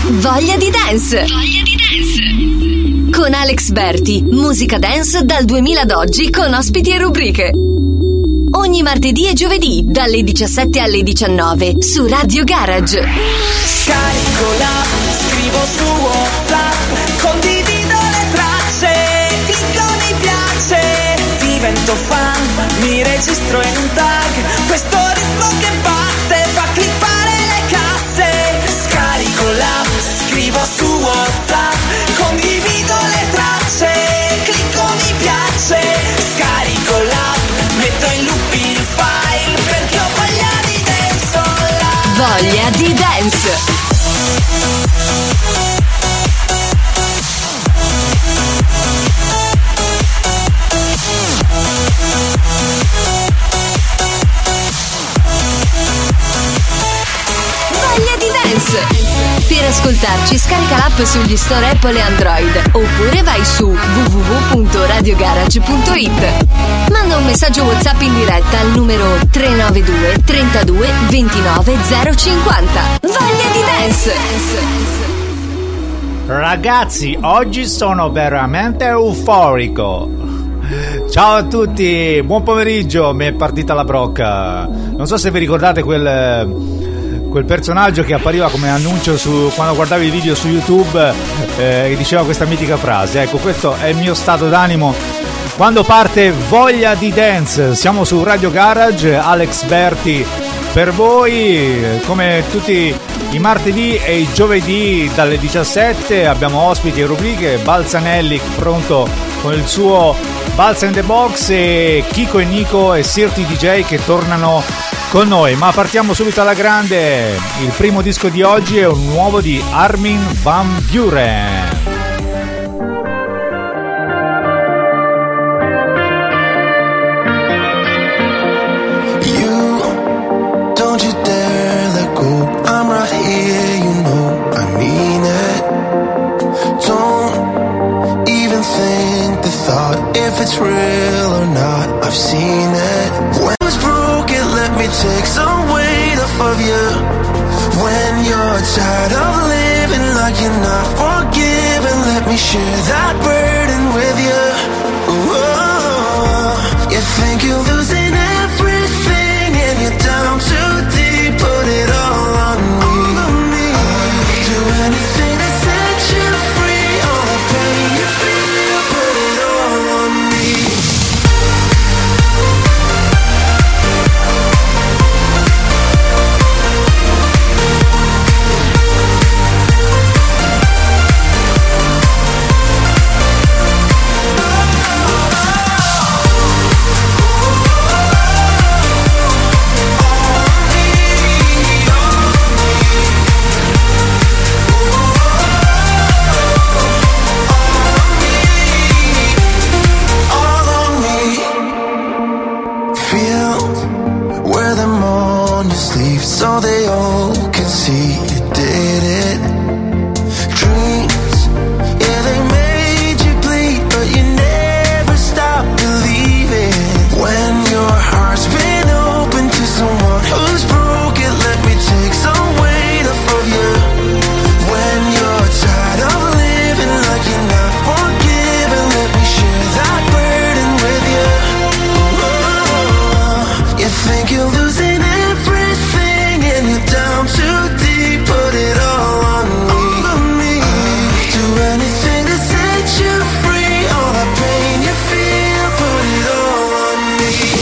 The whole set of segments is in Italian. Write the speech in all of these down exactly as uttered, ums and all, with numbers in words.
Voglia di dance. Voglia di dance. Con Alex Berti, musica dance dal duemila ad oggi con ospiti e rubriche. Ogni martedì e giovedì dalle diciassette alle diciannove su Radio Garage. Scarico l'app, scrivo su WhatsApp, condivido le tracce, clicco mi piace, divento fan, mi registro in un tag, questo ritmo che batte fa clippare le casse. Scarico l'app, scrivo su WhatsApp, condivido le tracce, clicco mi piace, scarico l'app, metto in loop il file perché ho voglia di dance online. Voglia di dance. Per ascoltarci scarica l'app sugli store Apple e Android oppure vai su w w w punto radio garage punto i t. Manda un messaggio WhatsApp in diretta al numero tre nove due trentadue ventinove zero cinquanta. Voglia di dance! Ragazzi, oggi sono veramente euforico. Ciao a tutti, buon pomeriggio, mi è partita la brocca. Non so se vi ricordate quel quel personaggio che appariva come annuncio su, quando guardavi i video su YouTube, eh, che diceva questa mitica frase. Ecco, questo è il mio stato d'animo quando parte Voglia di dance. Siamo su Radio Garage, Alex Berti per voi, come tutti i martedì e i giovedì dalle diciassette. Abbiamo ospiti e rubriche, Balzanelli pronto con il suo Balza in the Box e Kiko e Nico e Sirti D J che tornano con noi. Ma partiamo subito alla grande. Il primo disco di oggi è un nuovo di Armin van Buuren. It's real or not, I've seen it. When it's broken, let me take some weight off of you. When you're tired of living like you're not forgiven, let me share that burden with you. Whoa. You think you're losing everything and you're down too deep, put it all on me. I'll do anything to set you free, all the pain you feel, put it all on me. So they all can see you did it. Dreams, yeah, they made you bleed, but you never stop believing. When your heart's been open to someone who's broken, let me take some weight off of you. When you're tired of living like you're not forgiven, let me share that burden with you. Oh, you think you're losing everything and you're down too deep, put it all on me. I'll do anything to set you free, all the pain you feel, put it all on me.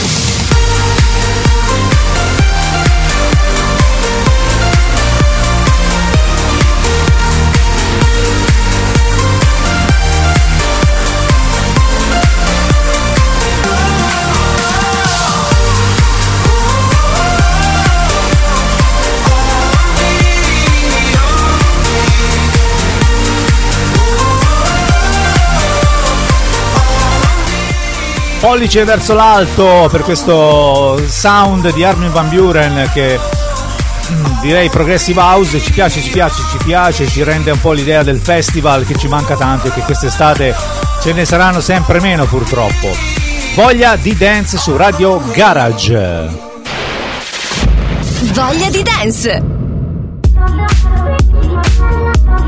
Pollice verso l'alto per questo sound di Armin van Buuren che direi progressive house. Ci piace, ci piace, ci piace, ci rende un po' l'idea del festival che ci manca tanto e che quest'estate ce ne saranno sempre meno purtroppo. Voglia di dance su Radio Garage. Voglia di dance.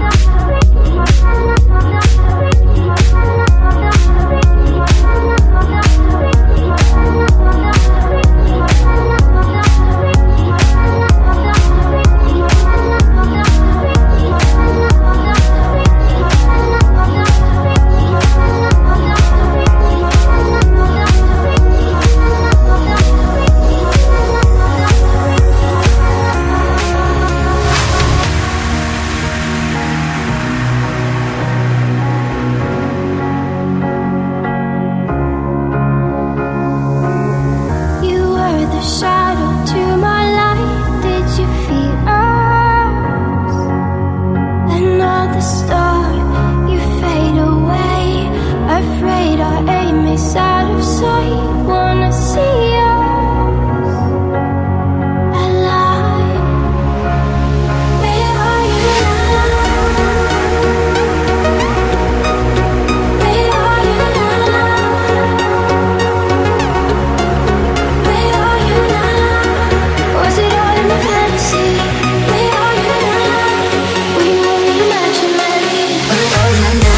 start, you fade away. Afraid our aim is out of sight. Wanna see us alive. Where are you now? Where are you now? Where are you now? Was it all in a fantasy? Where are you now? Were you only imaginary? Where are you now?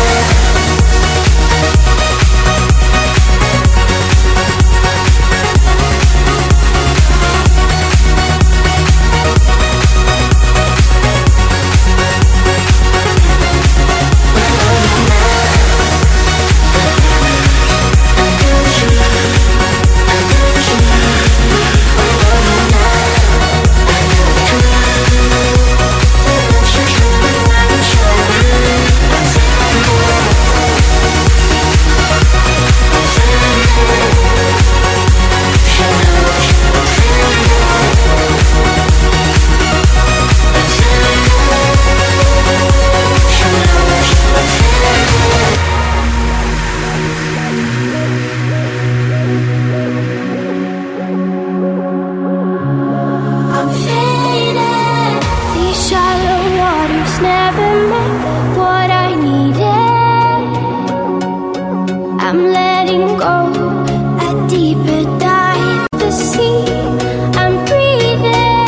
I'm faded. These shallow waters never meant what I needed. I'm letting go. A deeper dive, the sea. I'm breathing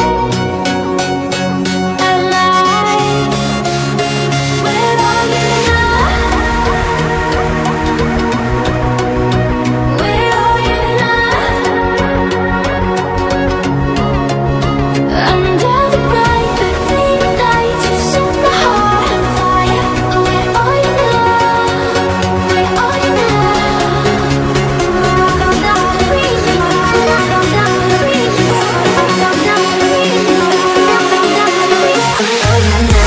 alive. Where are you now? Where are you now? Under the bright fifteen lights, you set my heart on fire. Where are you now? Where are you now? I'm not breathing. I'm not breathing. I'm not breathing. I'm not breathing. Where are you now?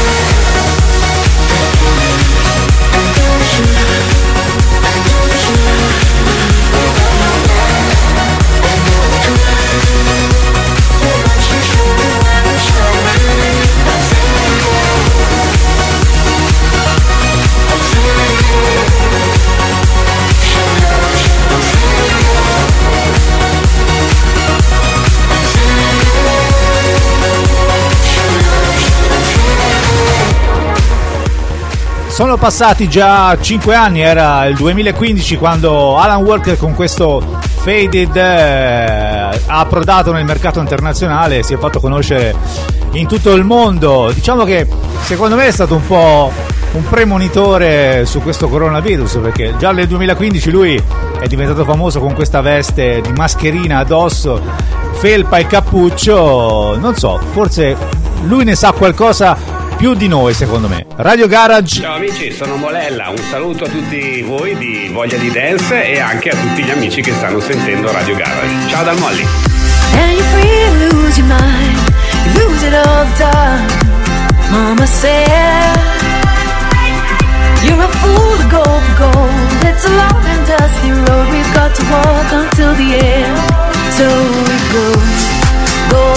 Sono passati già cinque anni, era il duemilaquindici quando Alan Walker con questo Faded eh, ha approdato nel mercato internazionale e si è fatto conoscere in tutto il mondo. Diciamo che secondo me è stato un po' un premonitore su questo coronavirus, perché già nel duemilaquindici lui è diventato famoso con questa veste di mascherina addosso, felpa e cappuccio. Non so, forse lui ne sa qualcosa più di noi, secondo me. Radio Garage. Ciao amici, sono Molella, un saluto a tutti voi di Voglia di Dance e anche a tutti gli amici che stanno sentendo Radio Garage. Ciao dal Molly. And you're free to lose your mind, you lose it all the time. Mama said you're a fool to go for gold. It's a long and dusty road we've got to walk until the end. So we go, go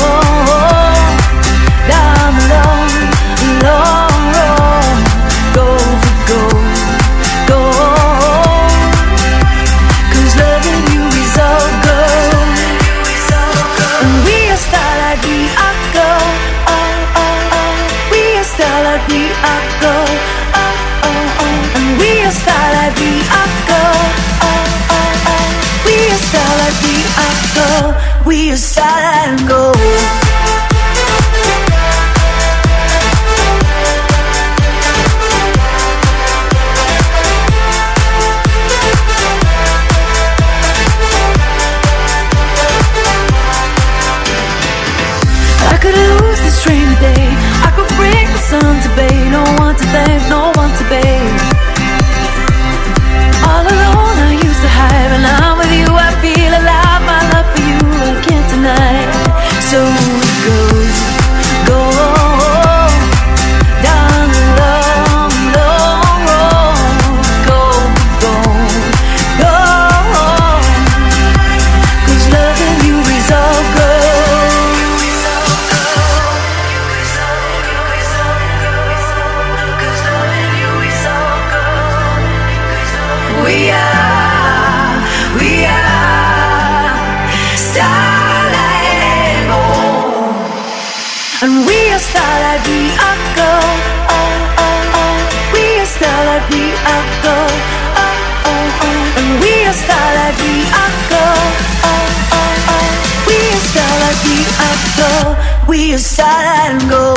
down the long, long road. Go for gold, gold. 'Cause loving you is all gold. And we are star like we are gold. Oh, oh, oh. We are star like we are gold. Oh, oh, oh. And we are star like we are gold. Oh, oh, oh. We are star like we are gold. We are star and gold. I could lose this train today. I could break the sun to bay. No one to thank, no one to beg. All alone I used to hide, but now with you I feel alive. My love for you I can't deny. So are starlight, we are gold. Oh, oh, oh. We are starlight, we are gold. We are starlight and gold.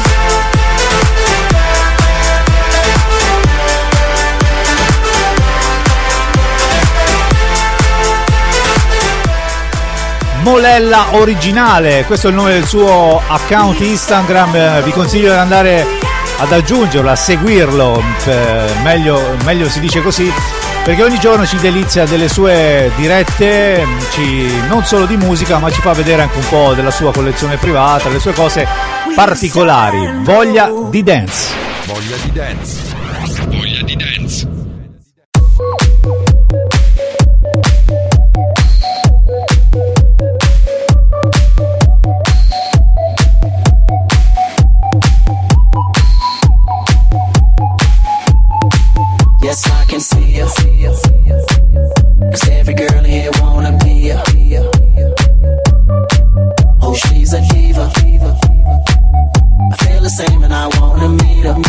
Molella originale, questo è il nome del suo account Instagram, vi consiglio di andare ad aggiungerlo, a seguirlo, meglio, meglio si dice così, perché ogni giorno ci delizia delle sue dirette, ci, non solo di musica, ma ci fa vedere anche un po' della sua collezione privata, le sue cose particolari. Voglia di dance. Voglia di dance. Voglia di dance. Yes, I can see you. Cause every girl here wanna be ya. Oh, she's a diva. I feel the same and I wanna meet her.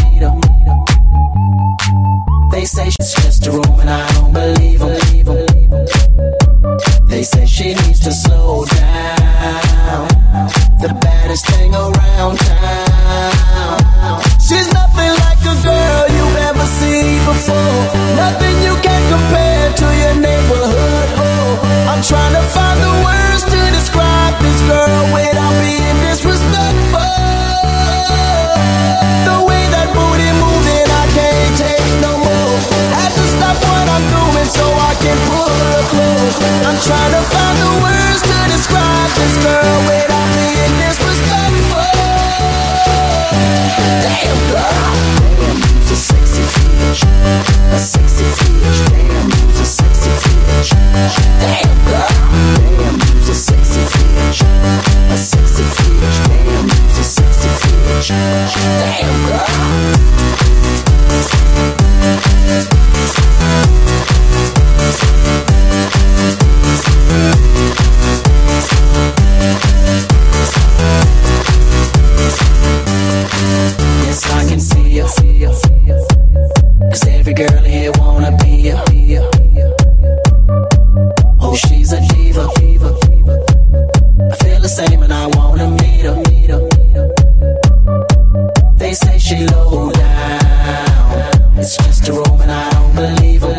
They say she's just a room and I don't believe them. They say she needs to slow down. The baddest thing around town. She's nothing like a girl you've ever seen before. Nothing you can compare to your neighborhood. Oh, I'm trying to find the words to describe this girl without being disrespectful. The way that booty moving, I can't take no more. Had to stop what I'm doing so I can pull her close. I'm trying to find the words to describe this girl without being disrespectful. Damn girl, damn, you's a sexy bitch, a sexy bitch. Damn, you's a sexy bitch. Damn girl, damn, you's a sexy bitch, a sexy bitch. Damn, you's a sexy bitch. Damn girl. Yes, I can see you. Cause every girl here wanna be ya. Oh, she's a diva. I feel the same and I wanna meet her. They say she low down. It's just a room and I don't believe her.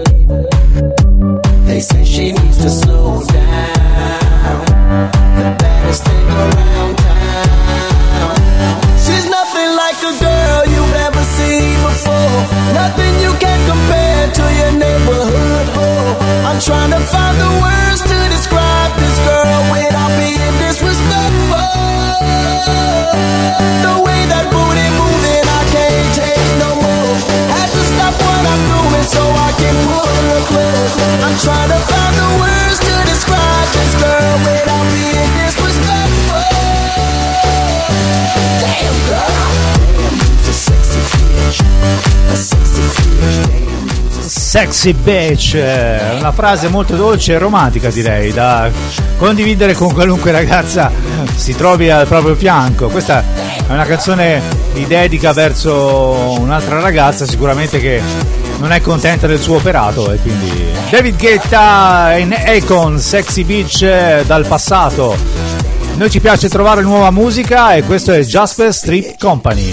They say she needs to slow down. The baddest thing around town. She's nothing like a girl you've ever seen before. Nothing you can compare to your neighborhood. Oh, I'm trying to find the words to describe this girl without being disrespectful. The way that booty moving, I can't take no more. Had to stop what I'm doing so I can pull her close. I'm trying to find the words to describe this girl without being disrespectful. Damn girl, damn, you's a sexy bitch, a sexy bitch. Damn, you's a Sexy bitch, una frase molto dolce e romantica, direi, da condividere con qualunque ragazza si trovi al proprio fianco. Questa è una canzone di dedica verso un'altra ragazza sicuramente che non è contenta del suo operato, e quindi David Guetta in Akon, Sexy Bitch dal passato. Noi ci piace trovare nuova musica e questo è Jasper Street Company.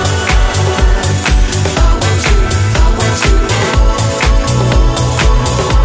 sexy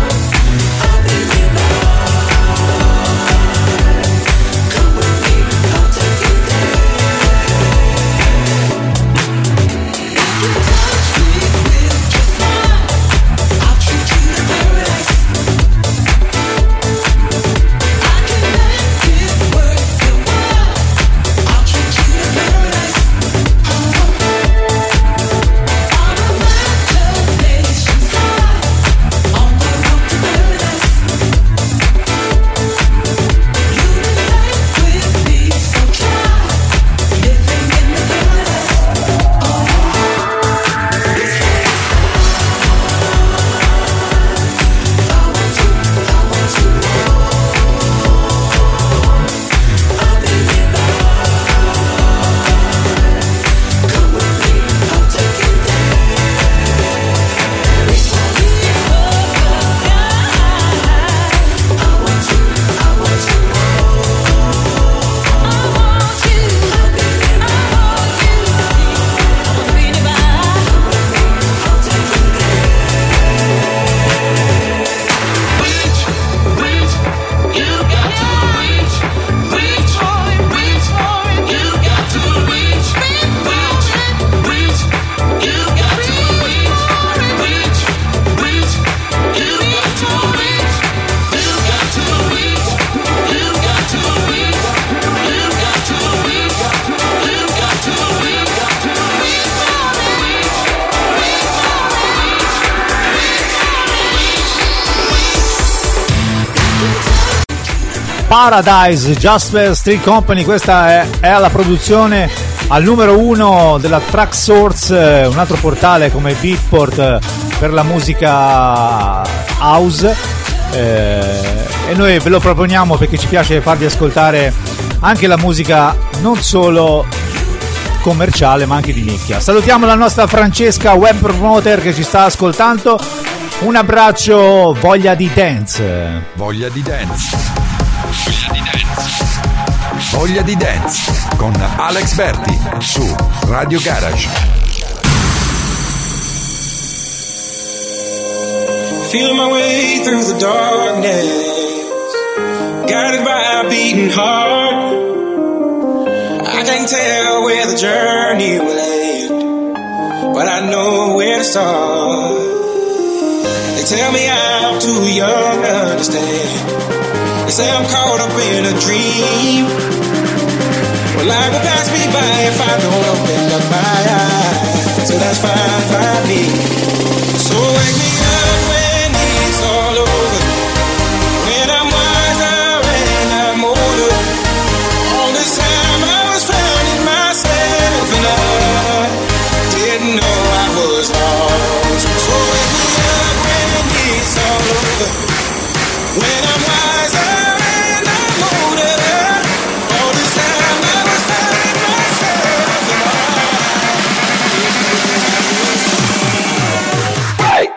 Paradise, Jasper Street Company. Questa è, è la produzione al numero uno della Traxsource, un altro portale come Beatport per la musica house, eh, e noi ve lo proponiamo perché ci piace farvi ascoltare anche la musica non solo commerciale ma anche di nicchia. Salutiamo la nostra Francesca web promoter che ci sta ascoltando. Un abbraccio, voglia di dance. Voglia di dance. Voglia di dance. Voglia di dance con Alex Berti su Radio Garage. Feeling my way through the darkness, guided by a beating heart. I can't tell where the journey will end, but I know where to start. They tell me I'm too young to understand. They say I'm caught up in a dream. Well, life will pass me by if I don't open up my eyes. So that's fine by me. So wake me up when it's all over, when I'm wiser and I'm older. All this time I was finding myself and I didn't know I was lost. So wake me up when it's all over, when I'm wiser and I'm older. All this time I was finding myself and I didn't know I was lost. Right.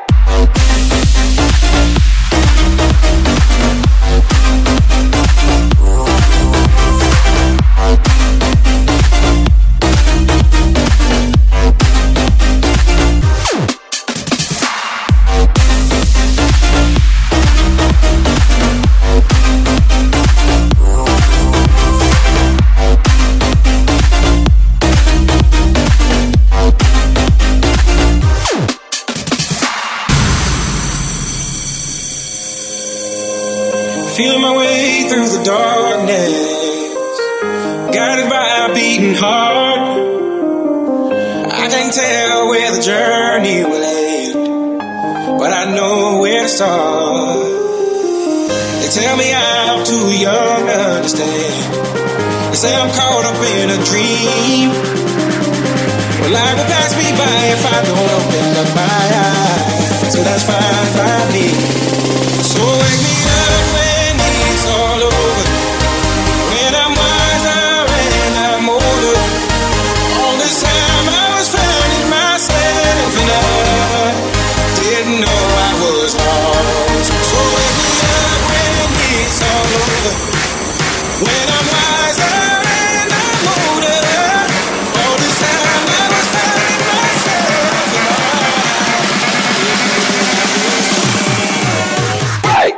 Feeling my way through the darkness, guided by a beating heart. I can't tell where the journey will end, but I know where to start. They tell me I'm too young to understand. They say I'm caught up in a dream. Well, life will pass me by if I don't open up my eyes. So that's fine by me. So wake me up when it's all over, when I'm wiser and I'm older. All this time I was finding myself and I didn't know I was lost. So wake me up when it's all over, when I'm wiser and I'm older. All this time I was finding myself and I didn't know I was lost. Right.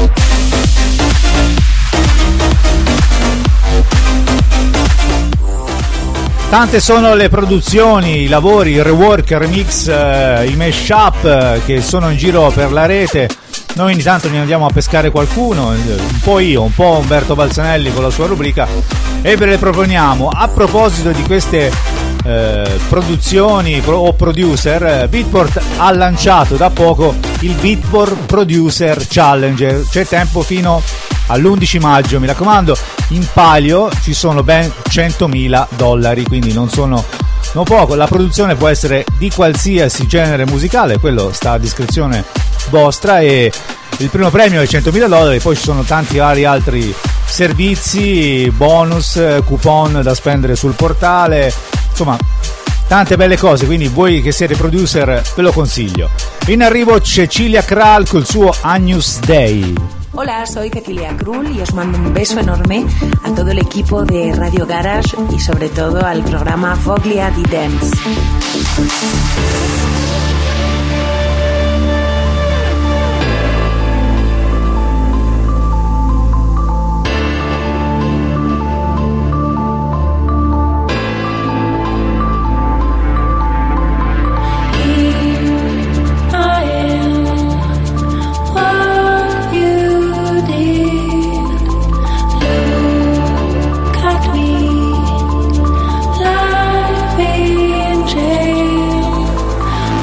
Tante sono le produzioni, i lavori, i rework, i remix, eh, i mashup eh, che sono in giro per la rete. Noi ogni tanto ne andiamo a pescare qualcuno, un po' io, un po' Umberto Balzanelli con la sua rubrica, e ve le proponiamo. A proposito di queste eh, produzioni pro- o producer, Beatport ha lanciato da poco il Beatport Producer Challenge. C'è tempo fino all'undici maggio, mi raccomando. In palio ci sono ben centomila dollari, quindi non sono non poco. La produzione può essere di qualsiasi genere musicale, quello sta a discrezione vostra, e il primo premio è centomila dollari. Poi ci sono tanti vari altri servizi, bonus, coupon da spendere sul portale, insomma tante belle cose, quindi voi che siete producer ve lo consiglio. In arrivo Cecilia Kral col suo Agnus Dei. Hola, soy Cecilia Krull y os mando un beso enorme a todo el equipo de Radio Garage y sobre todo al programa Voglia di Dance. Life in jail.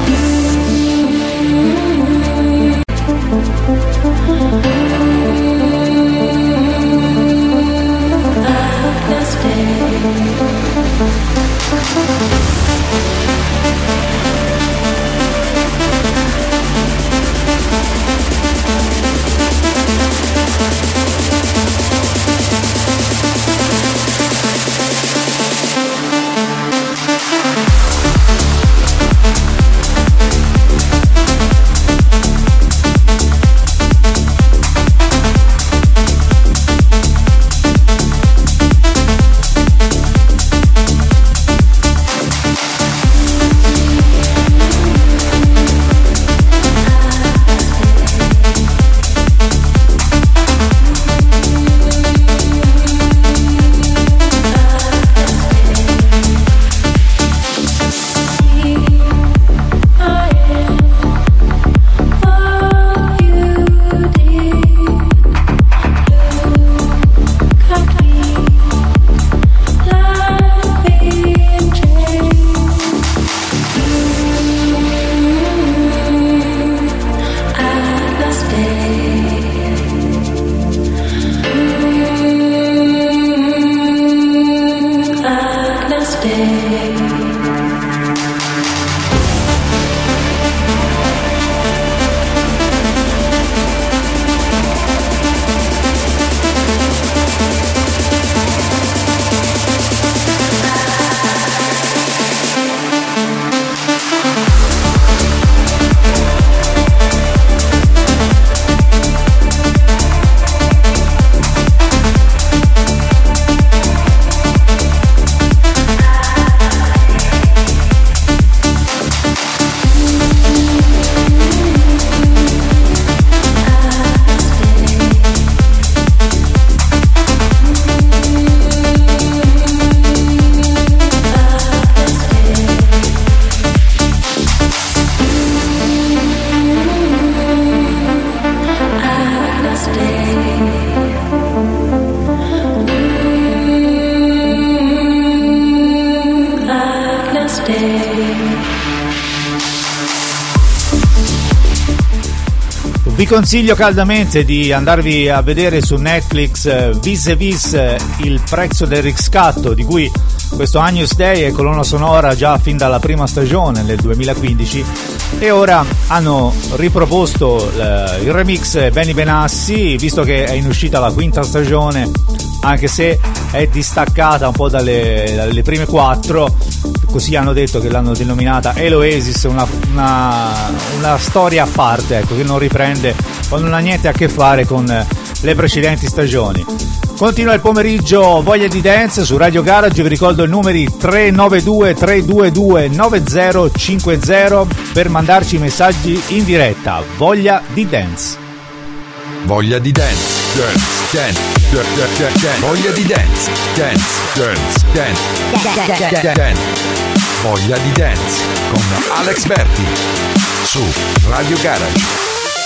Vi consiglio caldamente di andarvi a vedere su Netflix eh, Vis e Vis, eh, il prezzo del riscatto, di cui questo Agnus Dei è colonna sonora già fin dalla prima stagione nel duemilaquindici, e ora hanno riproposto eh, il remix Benny Benassi, visto che è in uscita la quinta stagione, anche se è distaccata un po' dalle, dalle prime quattro, così hanno detto che l'hanno denominata Eloesis, una, una, una storia a parte, ecco, che non riprende o non ha niente a che fare con le precedenti stagioni. Continua il pomeriggio Voglia di Dance su Radio Garage. Vi ricordo i numeri tre nove due tre due due nove zero cinque zero per mandarci messaggi in diretta. Voglia di Dance. Voglia di dance, dance, dance, dance, dance, dance. Voglia di dance, dance, dance, dance, dance, dance. Voglia di Dance con Alex Berti su Radio Garage.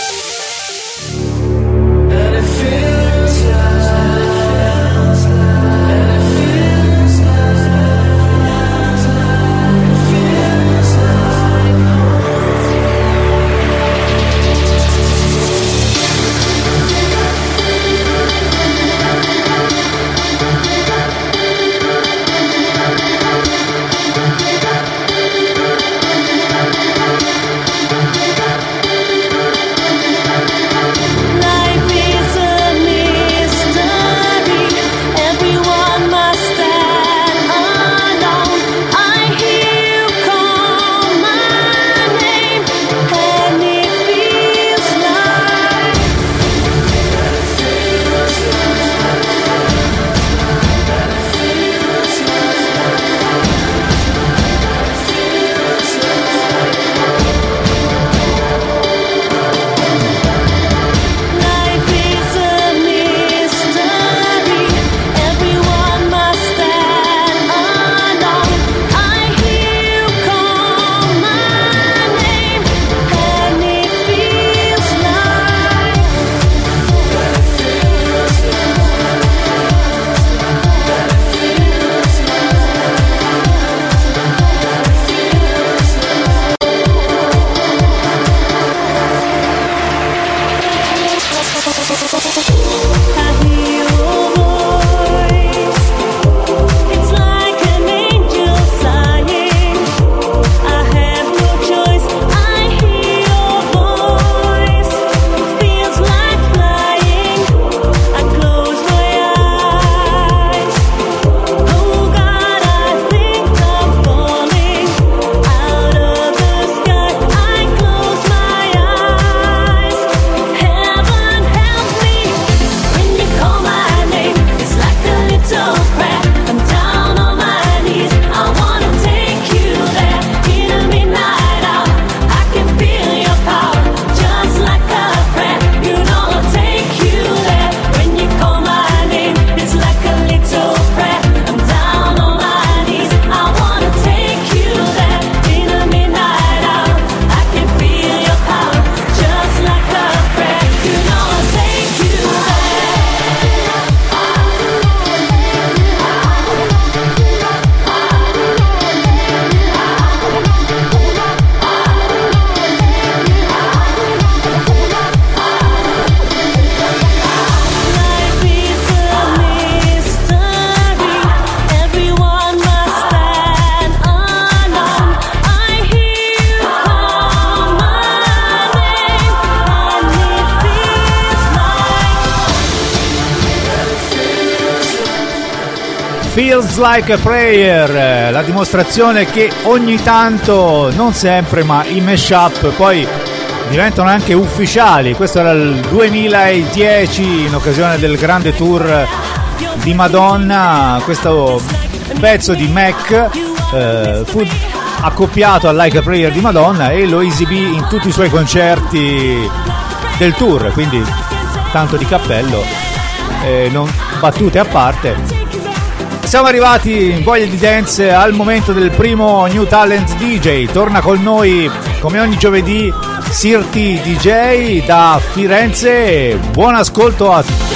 Feels Like a Prayer, la dimostrazione che ogni tanto, non sempre, ma i mashup poi diventano anche ufficiali. Questo era il duemiladieci, in occasione del grande tour di Madonna. Questo pezzo di Mac eh, fu accoppiato a Like a Prayer di Madonna e lo esibì in tutti i suoi concerti del tour, quindi tanto di cappello, eh, non battute a parte. Siamo arrivati in Voglia di Dance al momento del primo New Talent D J. Torna con noi come ogni giovedì Sirti D J da Firenze. Buon ascolto a tutti.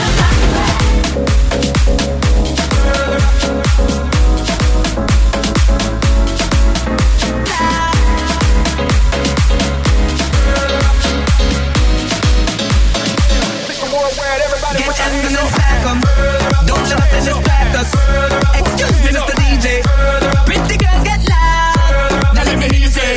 Everybody get hands and then stack 'em. Don't let nothing distract us. Excuse me, Mister D J. Pretty girls get loud. Now let me hear you say.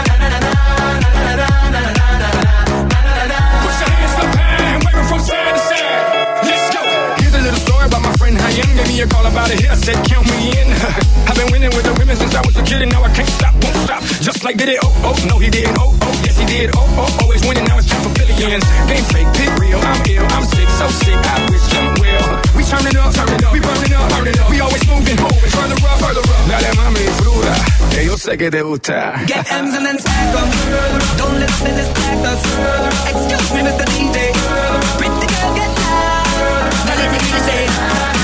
Put your hands up high and wave 'em from side to side. Let's go. Here's a little story about my friend Hayem. Gave me a call about it here. I said count me in. I've been winning with the women since I was a kid, and now I can't stop, won't stop. Just like did it, oh, oh, no he didn't, oh, oh, yes he did, oh, oh, always winning, now it's time for billions. Game fake, pick real, I'm ill, I'm sick, so sick, I wish them well. We turn it up, turn it up, we burn it up, burn it up. We always moving, moving, further up, further up. Dale mami, fruta, que yo sé que te gusta. Get M's and then stack 'em. Don't let nothing distract us. Excuse me, Mister D J. Pretty girl get loud. Now let me hear you say.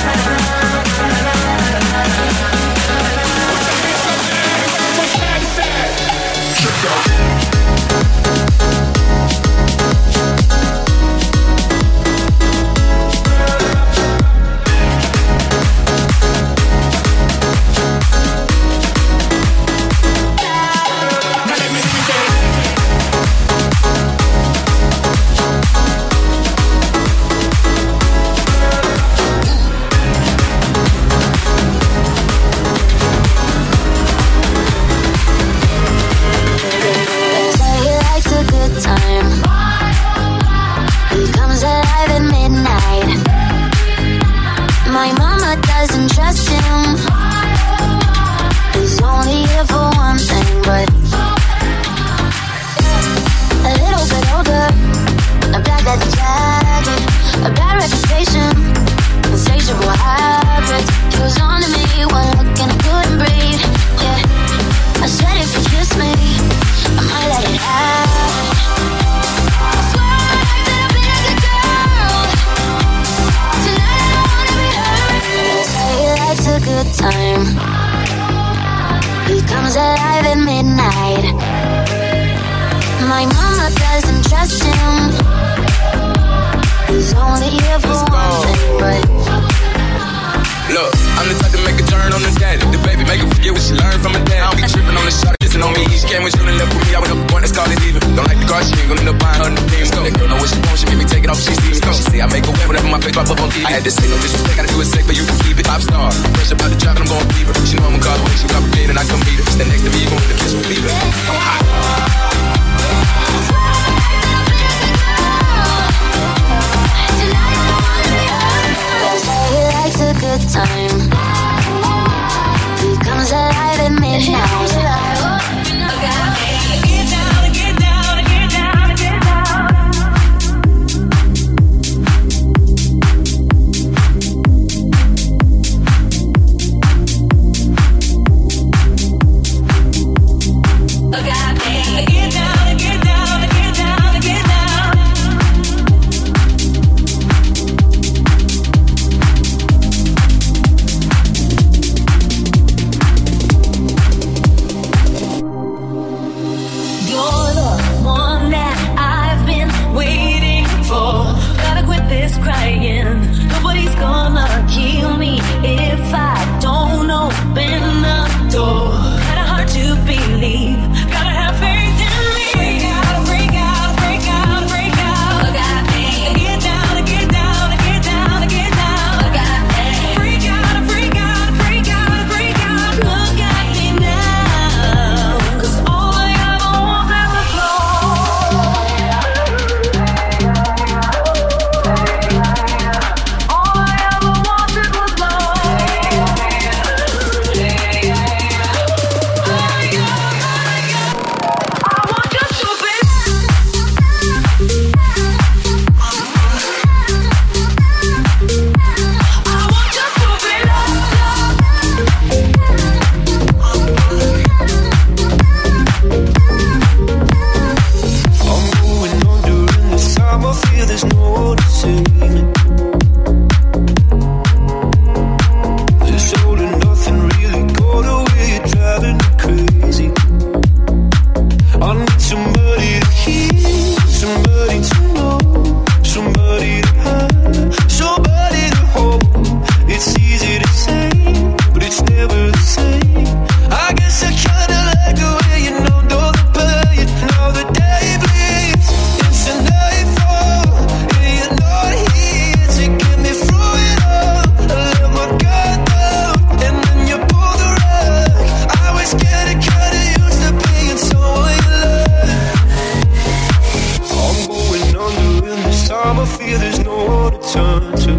My mama doesn't trust him. He's only here for one thing, but a little bit older, a black leather jacket, a bad reputation, insatiable habits. He was on to me, one look and I couldn't breathe. Yeah, I said if you kiss me, I might let it happen. I swear I acted up being a good girl. Tonight I don't wanna be hurt. They say he likes a good time. He comes alive at midnight. My mama doesn't trust him. He's only here for one thing, but look, I'm the type to make a turn on the daddy. The baby make her forget what she learned from her dad. I don't be tripping on the shot, listen on me. She came with you and left with me. I went up the point, let's call it even. Don't like the car, she ain't gonna end up buying her new things. That girl know what she wants, she make me take it off, she sees me. She say I make her wet whenever my face pop up on T V. I had to say no disrespect, gotta do it safe for you to keep it. Pop star, fresh about the job and I'm going fever. She know I'm a call away, she complicated and I come meet her. Stand next to me, you gon' the kiss with fever. I'm hot. a good time. He comes alive at midnight. Get down, get down, get down, get down. Get more to turn to.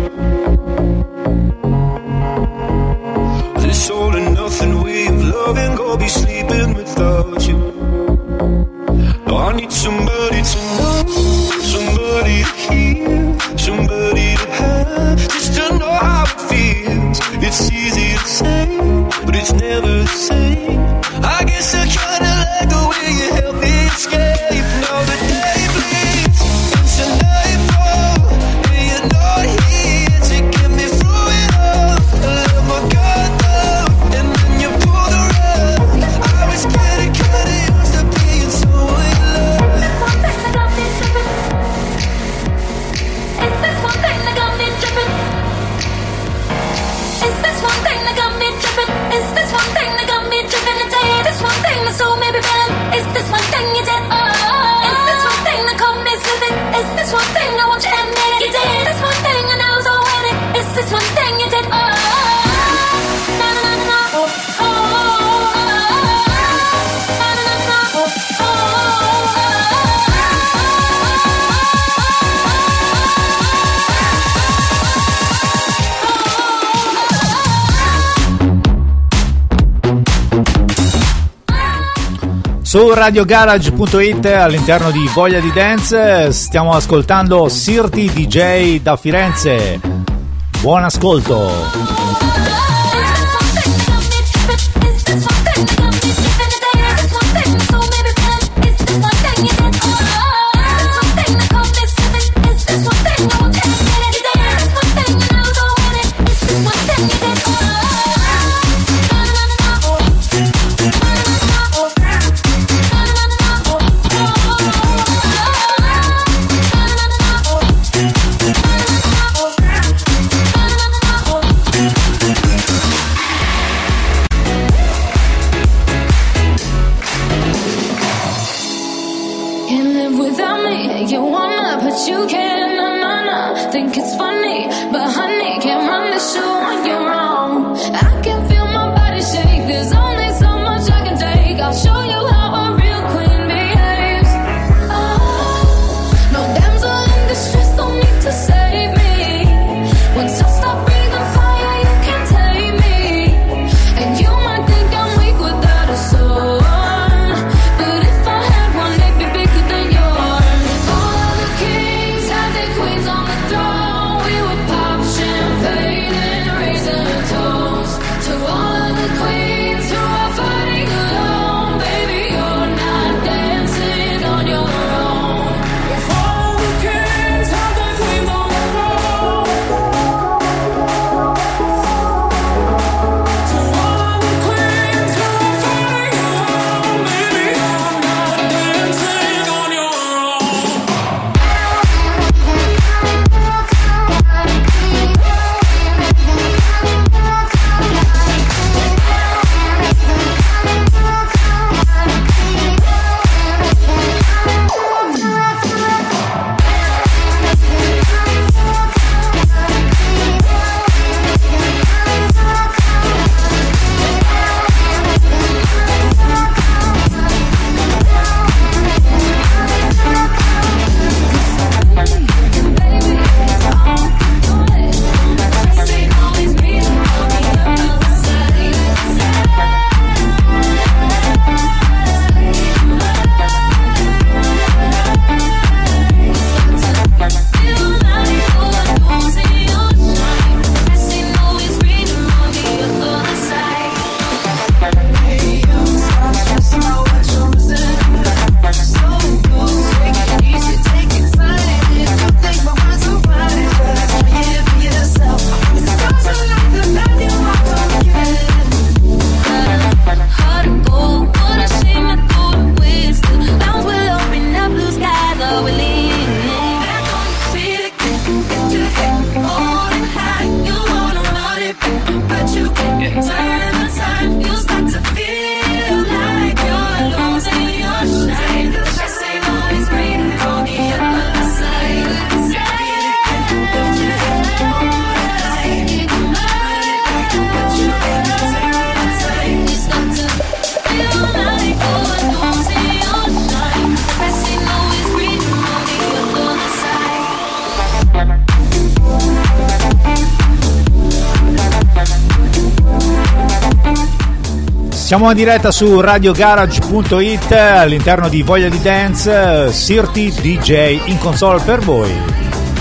This all and nothing way of loving, go be sleeping without you. No, I need somebody to know, somebody to hear, somebody to have, just to know how it feels. It's easy to say, but it's never the same. I guess I kinda like the way you help me escape. Now the day bleeds into nightfall, and you're not here to get me through it all. I let my guard down, and then you pull the rug. I was getting kinda used to being someone you love. It's this one thing that got me tripping. It's this one thing that got me tripping. It's this one thing that got me tripping. It's this one thing that sold me bad. It's this one thing you did. Oh, it's this one thing that caught me slipping. It's this one thing I want you to admit it. You did this one thing and I was all in it. It's this one thing you did. Oh, na na na na. Oh, oh, na na na na. Oh, oh, Su radio garage punto it all'interno di Voglia di Dance stiamo ascoltando Sirti D J da Firenze. Buon ascolto. Queens on the throne, we would pop Siamo in diretta su radio garage punto it all'interno di Voglia di Dance, Sirti D J in console per voi.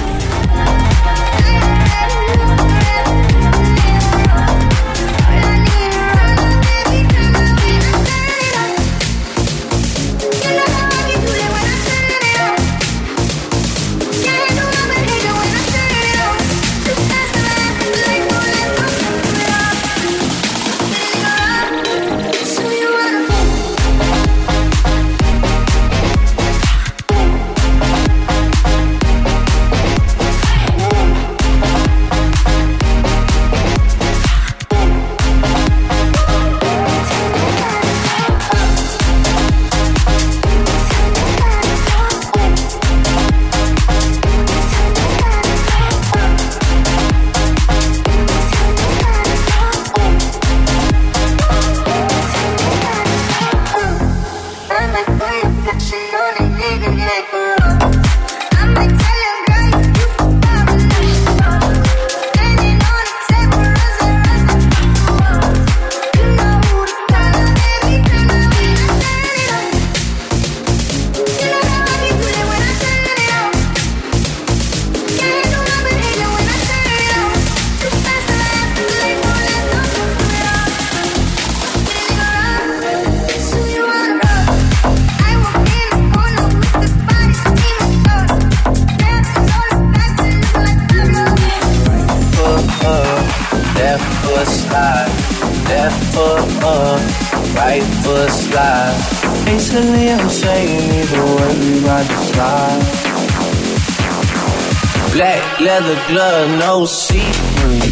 Leather glove, no see-through.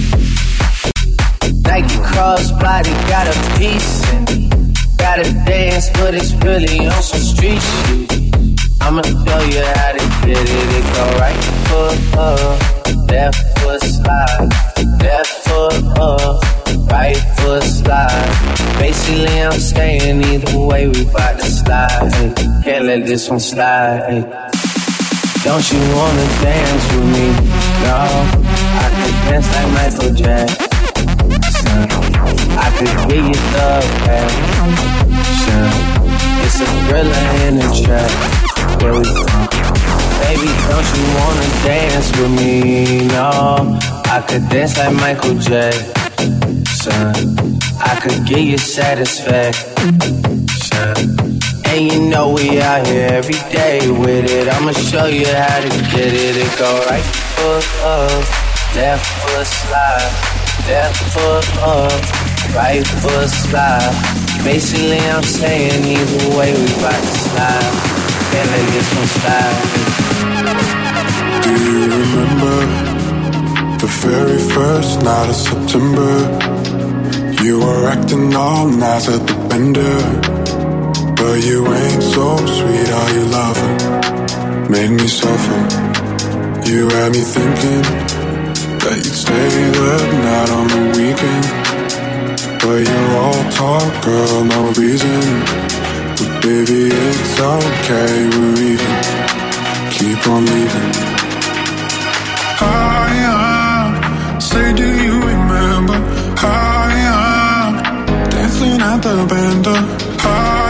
Nike crossbody got a piece in it. Gotta dance, but it's really on some street shit. I'ma show you how to get it. It go right foot up, left foot slide, left foot up, right foot slide. Basically, I'm staying either way, we bout to slide. Hey, can't let this one slide. Hey. Don't you wanna dance with me? No, I could dance like Michael Jackson. I could give you the passion. It's a thriller in the trap. Where we from? Baby, don't you wanna dance with me? No, I could dance like Michael Jackson. I could give you satisfaction. And you know we out here every day with it. I'ma show you how to get it. It go right foot up, left foot slide, left foot up, right foot slide. Basically I'm saying either way we bout to slide. Can't let this one slide. Do you remember the very first night of September? You were acting all nice at the bender. But you ain't so sweet, are you lover? Made me suffer. You had me thinking that you'd stay the night on the weekend. But you're all talk, girl, no reason. But baby, it's okay, we're even. Keep on leaving. I am, say do you remember? I am, dancing at the bender. I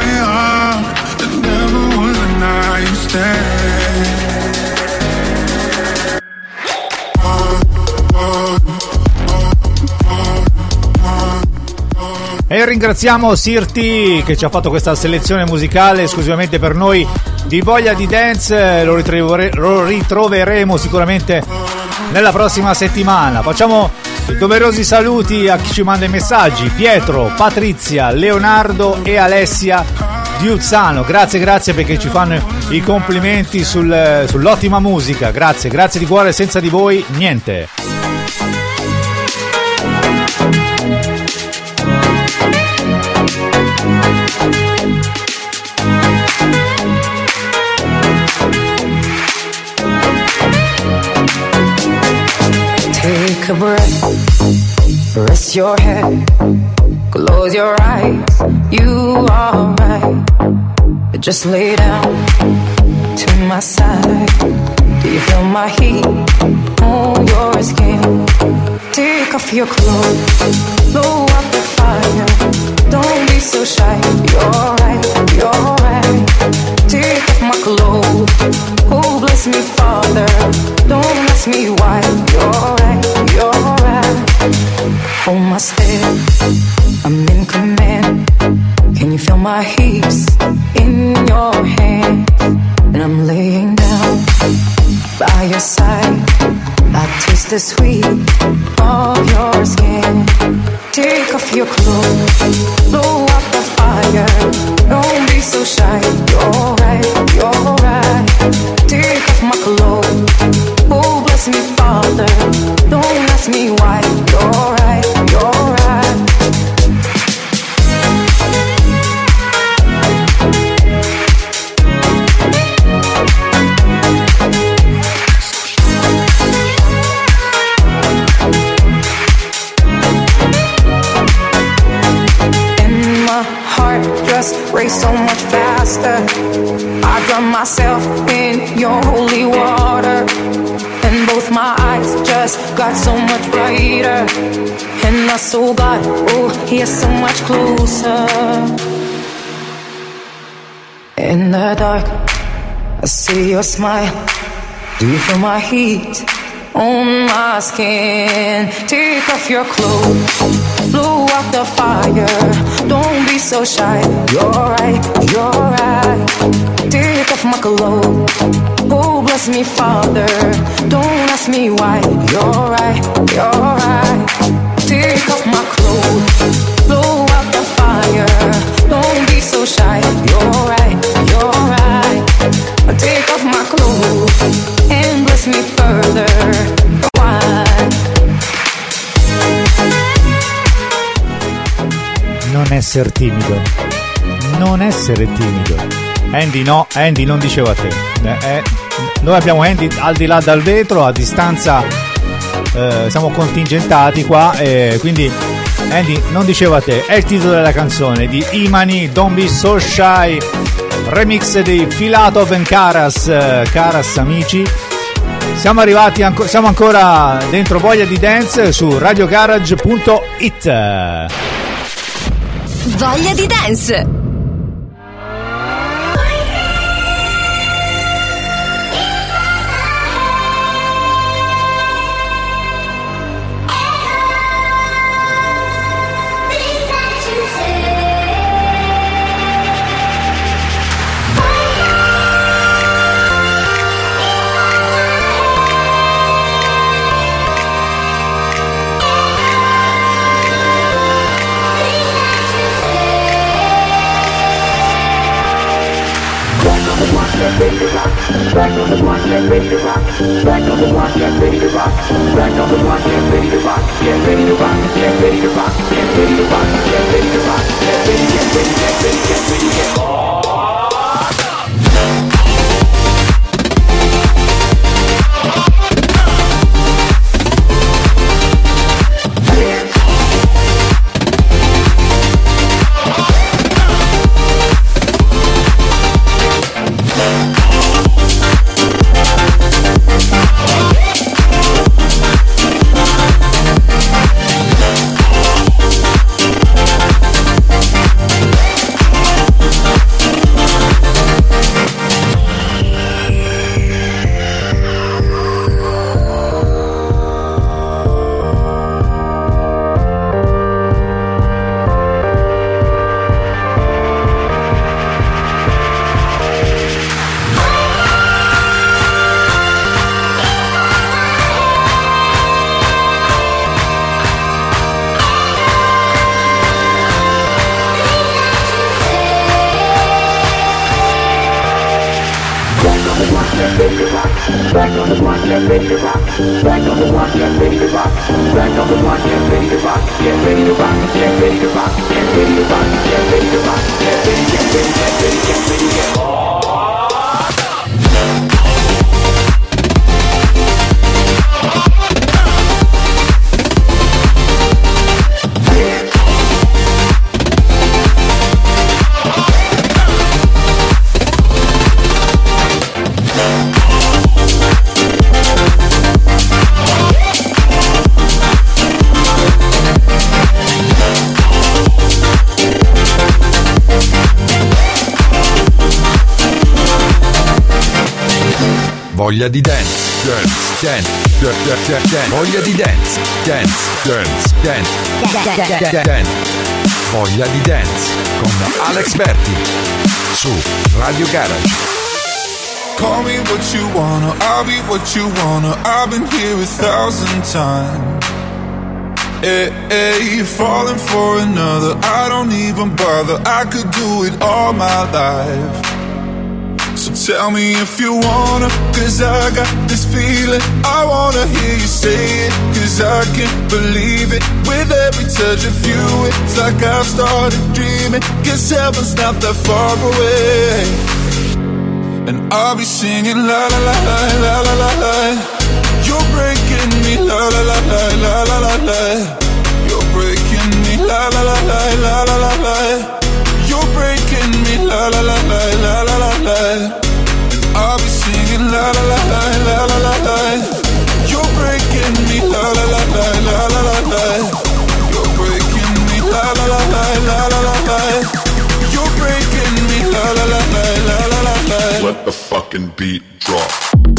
E ringraziamo Sirti che ci ha fatto questa selezione musicale esclusivamente per noi di Voglia di Dance. Lo, ritrovere- lo ritroveremo sicuramente nella prossima settimana. Facciamo doverosi saluti a chi ci manda i messaggi: Pietro, Patrizia, Leonardo e Alessia di Uzzano. Grazie, grazie perché ci fanno i complimenti sul, sull'ottima musica. Grazie, grazie di cuore, senza di voi niente. Take a breath, rest your head, close your eyes, you are right. Just lay down to my side. Do you feel my heat on your skin? Take off your clothes, blow up the fire. Don't be be so shy. You're right, you're right. Take off my clothes. Oh, bless me, Father. Don't ask me why. You're right, you're right. Hold my step. I'm in command. Can you feel my hips in your hands? And I'm laying down by your side. I taste the sweet of your skin. Take off your clothes, blow up the fire. Don't be so shy. You're right, you're right. Take off my clothes. Oh, bless me, Father. Don't ask me why. You're right, you're right. Race so much faster. I drown myself in your holy water, and both my eyes just got so much brighter. And my soul got, oh, here so much closer. In the dark, I see your smile. Do you feel my heat on my skin? Take off your clothes, blow out the fire. Don't be so shy. You're right, you're right. Take off my clothes. Oh, bless me, Father. Don't ask me why. You're right, you're right. Take off my clothes, blow out the fire. Don't be so shy. You're right, you're right. Take off my clothes and bless me further. Why? Non essere timido, non essere timido. Andy no, Andy non dicevo a te. Eh, eh, noi abbiamo Andy al di là dal vetro, a distanza, eh, siamo contingentati qua, eh, quindi Andy non dicevo a te. È il titolo della canzone di Imani, Don't Be So Shy, remix di Filatov and Karas. Karas, amici, siamo arrivati, anco- siamo ancora dentro Voglia di Dance su radio garage punto it. Voglia di Dance. Ready to rock, back on the block, get ready to rock, back on the block, get ready to rock, back on the block, get ready to rock, get ready to rock, get ready to rock, get ready to rock, get ready to rock, get ready, get ready, get ready, get ready, get ready. Back on the block, get ready to rock. Back on the block, get ready to rock. Back on the block, get ready to rock. Get ready to rock. Get ready to rock. Get ready to rock. Get ready to rock. Get ready, get ready, get ready, get ready, get ready. Voglia di dance, dance, dance, dance, dance, dance. Voglia di dance, dance, dance, dance, dance. Voglia di dance con Alex Berti su Radio Garage. Call me what you wanna, I'll be what you wanna. I've been here a thousand times. Hey, hey, you're falling for another, I don't even bother. I could do it all my life. So tell me if you wanna, cause I got this feeling. I wanna hear you say it, cause I can't believe it. With every touch of you, it's like I've started dreaming. Cause heaven's not that far away. And I'll be singing la la la la la la la la. You're breaking me la la la la la la la la. You're breaking me la la la la la la la la. You're breaking me la la la la la la la la. And I'll be singing la la la la la la la la. You're breaking me la la la la la la la la. You're breaking me la la la la la la la la. You're breaking me la la la la la la la la. Let the fucking beat drop.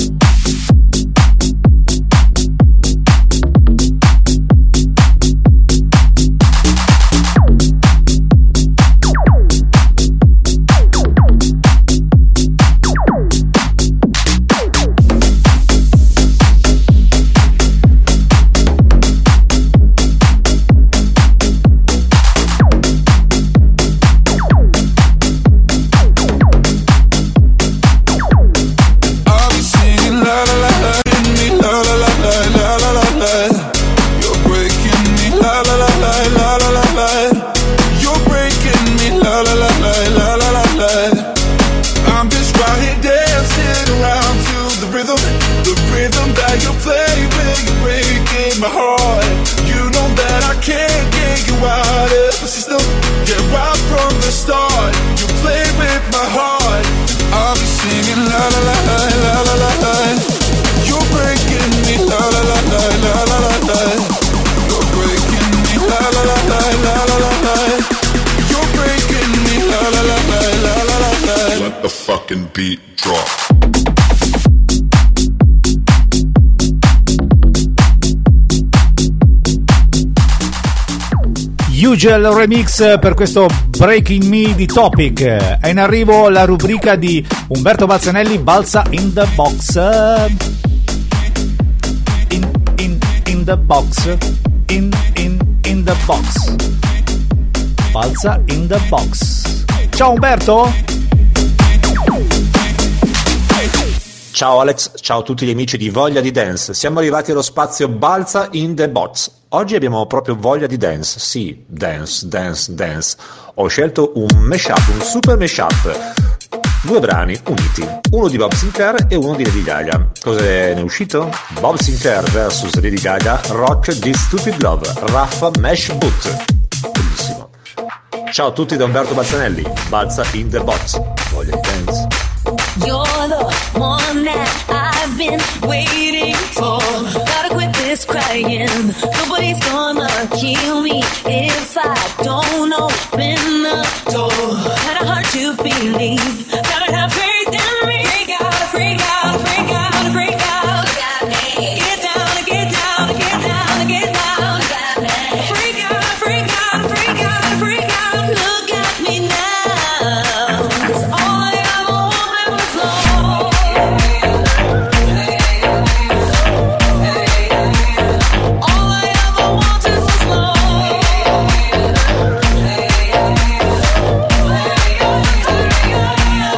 Beat drop. Usual Remix per questo Breaking Me di Topic. È in arrivo la rubrica di Umberto Balzanelli, Balza in the Box. In, in, in the box. In, in, in the box. Balza in the box. Ciao Umberto. Ciao Alex, ciao a tutti gli amici di Voglia di Dance. Siamo arrivati allo spazio Balza in the Box. Oggi abbiamo proprio voglia di dance. Sì, dance, dance, dance. Ho scelto un mashup, un super mashup. Due brani uniti, uno di Bob Sinclair e uno di Lady Gaga. Cosa ne è uscito? Bob Sinclair versus Lady Gaga, Rock This Stupid Love, Raffa Mesh Boot. Bellissimo. Ciao a tutti da Umberto Balzanelli, Balza in the Box. Voglia di dance. You're the one that I've been waiting for. Gotta quit this crying. Nobody's gonna kill me if I don't open the door. Kinda hard to believe. Gotta have faith in me. Freak out, freak out, freak out, freak out. Get down, get down, get down, get down. Freak out, freak out, freak out, freak out. Look at me now. 'Cause all I ever wanted was love. All I ever wanted was love.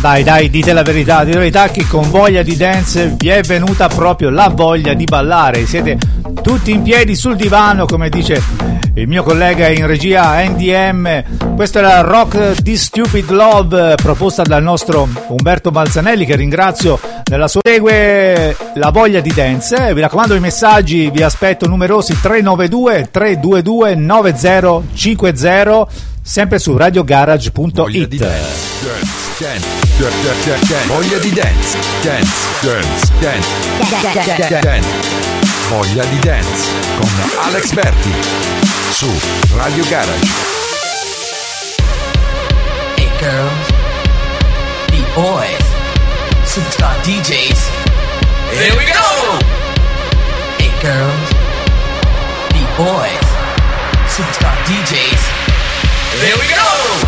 Dai, dai, dite la verità, dite la verità che con Voglia di Dance vi è venuta proprio la voglia di ballare. Siete tutti in piedi sul divano, come dice il mio collega in regia N D M. Questa è la Rock di Stupid Love, proposta dal nostro Umberto Balzanelli, che ringrazio nella sua. Segue la Voglia di Dance. Vi raccomando, i messaggi vi aspetto numerosi: tre nove due tre due due nove zero cinque zero, sempre su radio garage punto it. Voglia di dance, dance, dance, dance, voglia di dance, dance, dance, dance, dance, voglia di dance con Alex Berti su Radio Garage. Hey girls, B-boys, superstar D Js, here we go! Hey girls, B-boys, superstar D Js, here we go!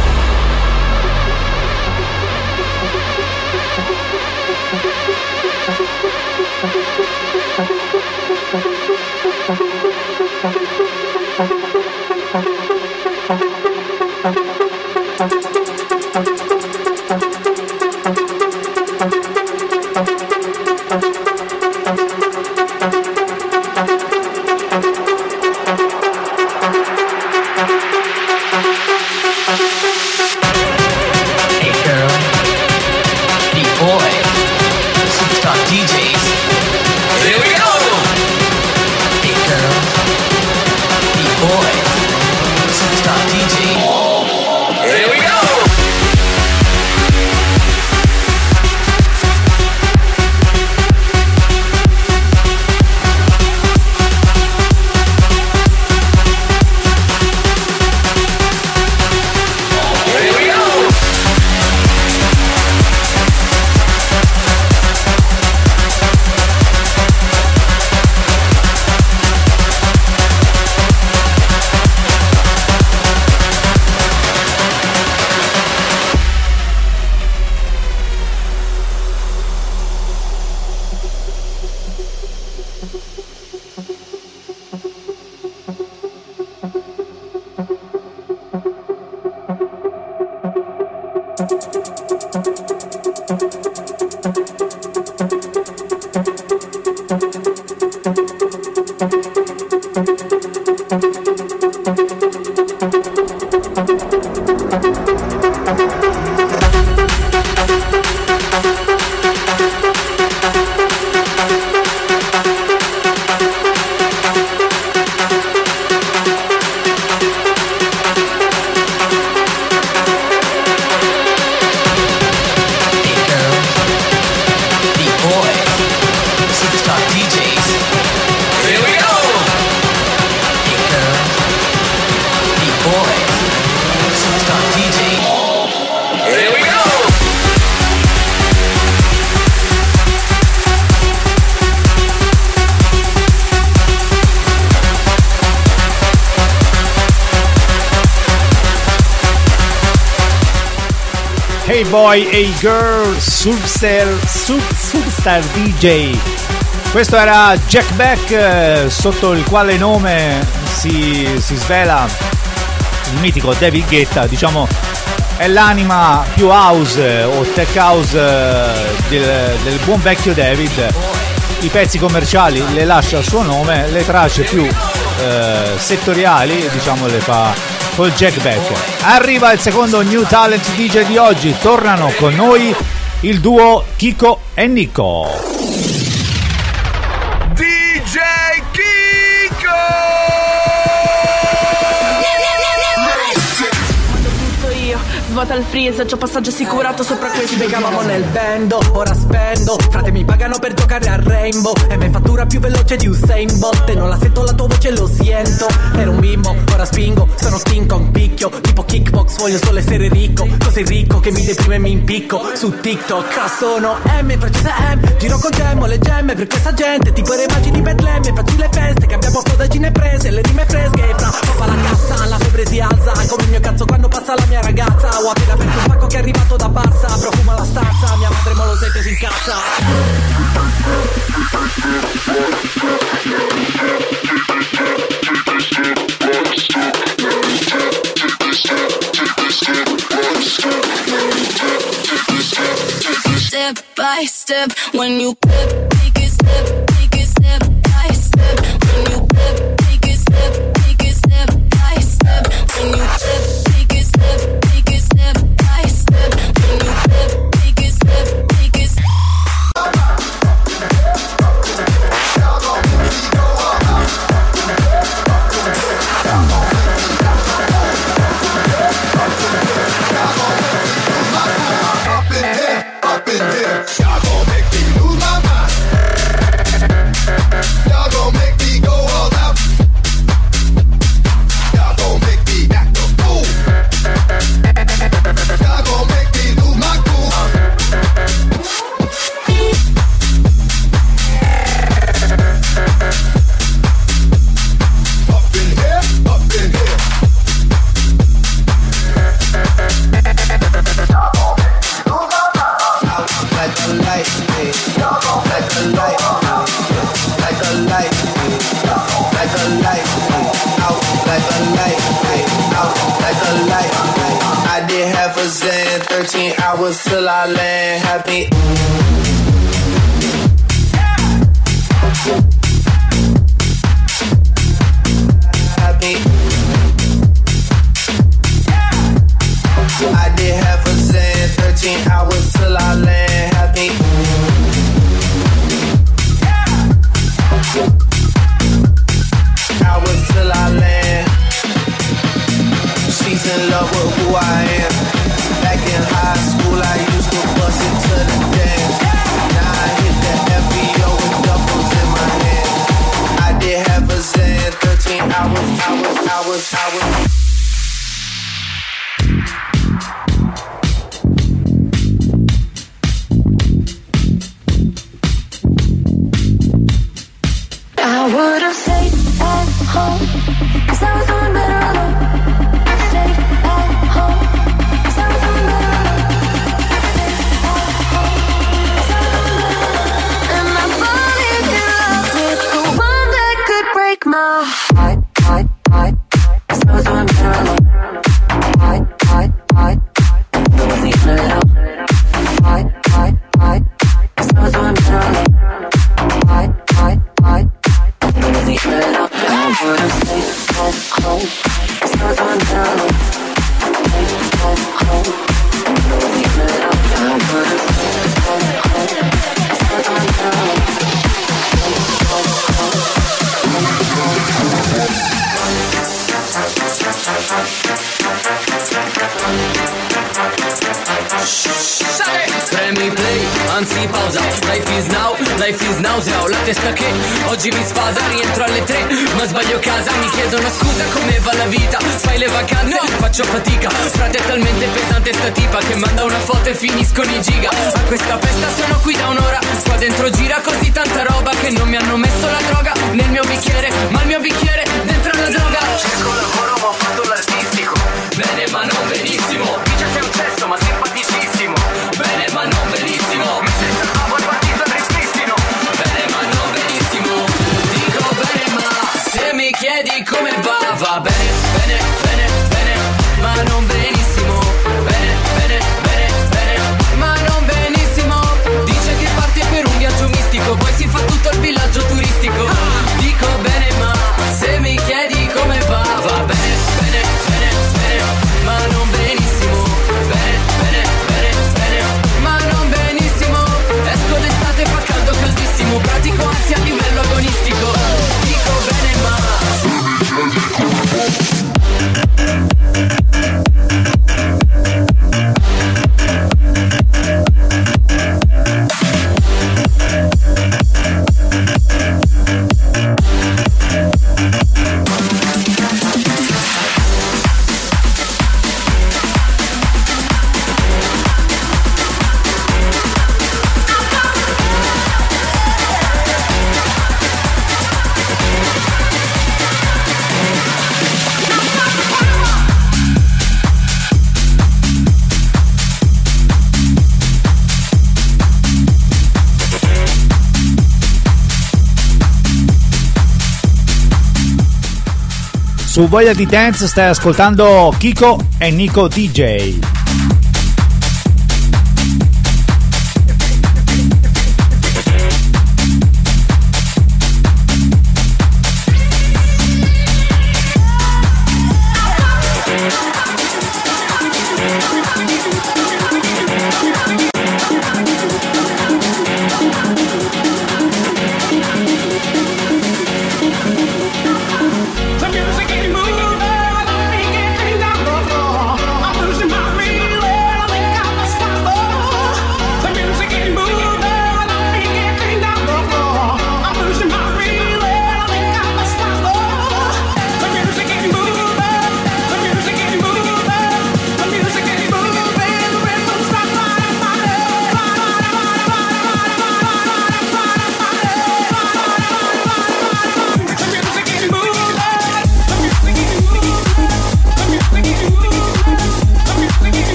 Hey boy, hey girl, Substar, sub, Substar D J. Questo era Jack Beck, eh, sotto il quale nome si, si svela il mitico David Guetta. Diciamo è l'anima più house o tech house del, del buon vecchio David. I pezzi commerciali le lascia a suo nome, le tracce più eh, settoriali diciamo le fa col Jack Beck. Arriva il secondo New Talent D J di oggi. Tornano con noi il duo Kiko e Nico. D J Kiko! Svuota il freezer, c'ho passaggio assicurato sopra questo. Spiegavamo nel bando, ora spendo. Frate mi pagano per giocare a Rainbow e me fattura più veloce di Usain Bolt. E non la sento la tua voce, lo sento. Ero un bimbo, ora spingo. Sono King Kong picchio, tipo kickbox, voglio solo essere ricco. Così ricco che mi deprime e mi impicco. Su TikTok sono M, in francese M. Giro con gemmo, le gemme per questa gente. Tipo le immagini di Betlemme, facci le feste. Che abbiamo fodagine prese, le rime fresche. Fra papà la cassa, la febbre si alza. Come il mio cazzo quando passa la mia ragazza. Ho appena aperto un pacco che è arrivato da Barça. Profuma la stanza, mia madre mo lo sente si incazza. Take this step, by step. When you flip, take it step, take it step by step. When you flip, take it step, take it step by step. When you flip, take it step, take it step by step. When you flip, take it step, take it step. Up in here, y'all gon' make me lose my mind. Y'all gon' make me go all out. Y'all gon' make me act a fool. Y'all gon' make me lose my cool. Up in here, up in here. Like a light, like a light, like a light, like a light, out like a light, out like a light. I did half a zen, thirteen hours till I land. Happy. Happy. I did half a zen, thirteen hours till I land. Happy. Hours till I land. She's in love with who I am. Back in high school, I used to bust into the dance. Now I hit the F B O with duffels in my hand. I did half a zen, thirteen hours, hours, hours, hours. I would've stayed at home, 'cause I was doing better alone. Stayed at home, 'cause I was doing better alone. Stayed at home, 'cause I was doing better alone. And I'm falling in love with the one that could break my heart, heart, heart. 'Cause I was doing better alone. Heart, heart, heart. I wasn't even a little. Heart, heart, heart. 'Cause I was doing better alone. Heart, heart, heart. I wasn't even a little. I would've stayed at home, 'cause I was doing better alone. Stayed at home. I wasn't even a little. I would've stayed at home, 'cause I was doing better alone. Premi play, anzi pausa. Life is now, life is nausea. Ho la testa che oggi mi sfasa. Rientro alle tre, ma sbaglio casa. Mi chiedono scusa come va la vita. Fai le vacanze, faccio fatica. Frate è talmente pesante sta tipa che manda una foto e finiscono i giga. A questa festa sono qui da un'ora. Qua dentro gira così tanta roba che non mi hanno messo la droga nel mio bicchiere, ma il mio bicchiere dentro la droga. Cerco lavoro ma ho fatto l'artistico. Bene ma non benissimo. Dice sei un cesto ma simpaticissimo. Bene ma non benissimo. Mentre salvavo il partito al ripristino. Bene ma non benissimo. Dico bene ma se mi chiedi come va, va bene, bene, bene, bene, ma non benissimo. Bene, bene, bene, bene, ma non benissimo. Dice che parte per un viaggio mistico, poi si fa tutto il villaggio turistico. Dico bene ma se mi chiedi come va, va bene, bene, bene, bene, ma non benissimo. Bene, bene, bene, bene, ma non benissimo. Esco d'estate, fa caldo caldissimo. Pratico ansia a livello agonistico. Dico bene ma Su Voglia di Dance stai ascoltando Kiko e Nico D J.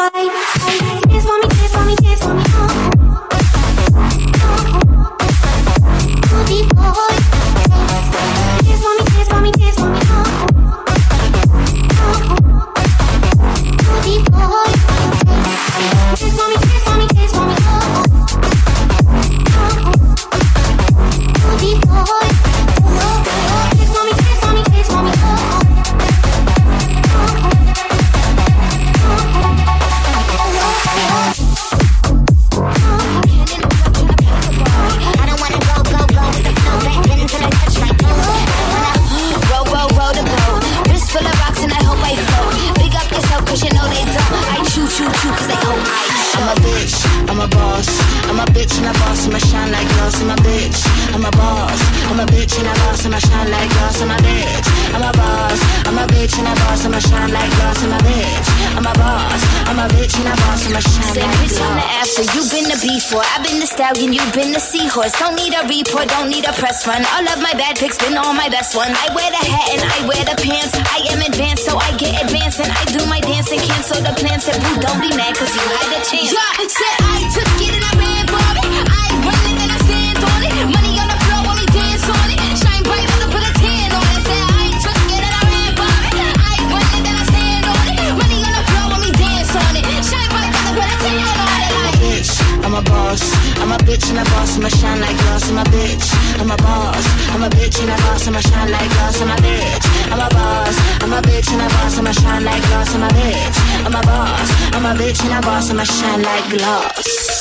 You've been the seahorse, don't need a report, don't need a press run. All of my bad pics been all my best one. I wear the hat and I wear the pants. I am advanced, so I get advanced and I do my dance and cancel the plans. Said, boo, don't be mad, cause you had the chance. Yeah, said I took it and I ran for it. I run it and I stand on it. Money on the floor while we dance on it. Shine bright when I put a tan on it. Said I took it and I ran for it. I run it and I stand on it. Money on the floor while we dance on it. Shine bright when I put a tan on it. I'm a bitch, I'm a boss. I'm a bitch and a boss, I'ma shine like glass. I'm a bitch, I'm a boss. I'm a bitch and a boss, I'ma shine like glass. I'm a bitch, I'm a boss. I'm a bitch and a boss, I'ma shine like glass. I'm a bitch, I'm a boss. I'm a bitch and a boss, I'ma shine like glass.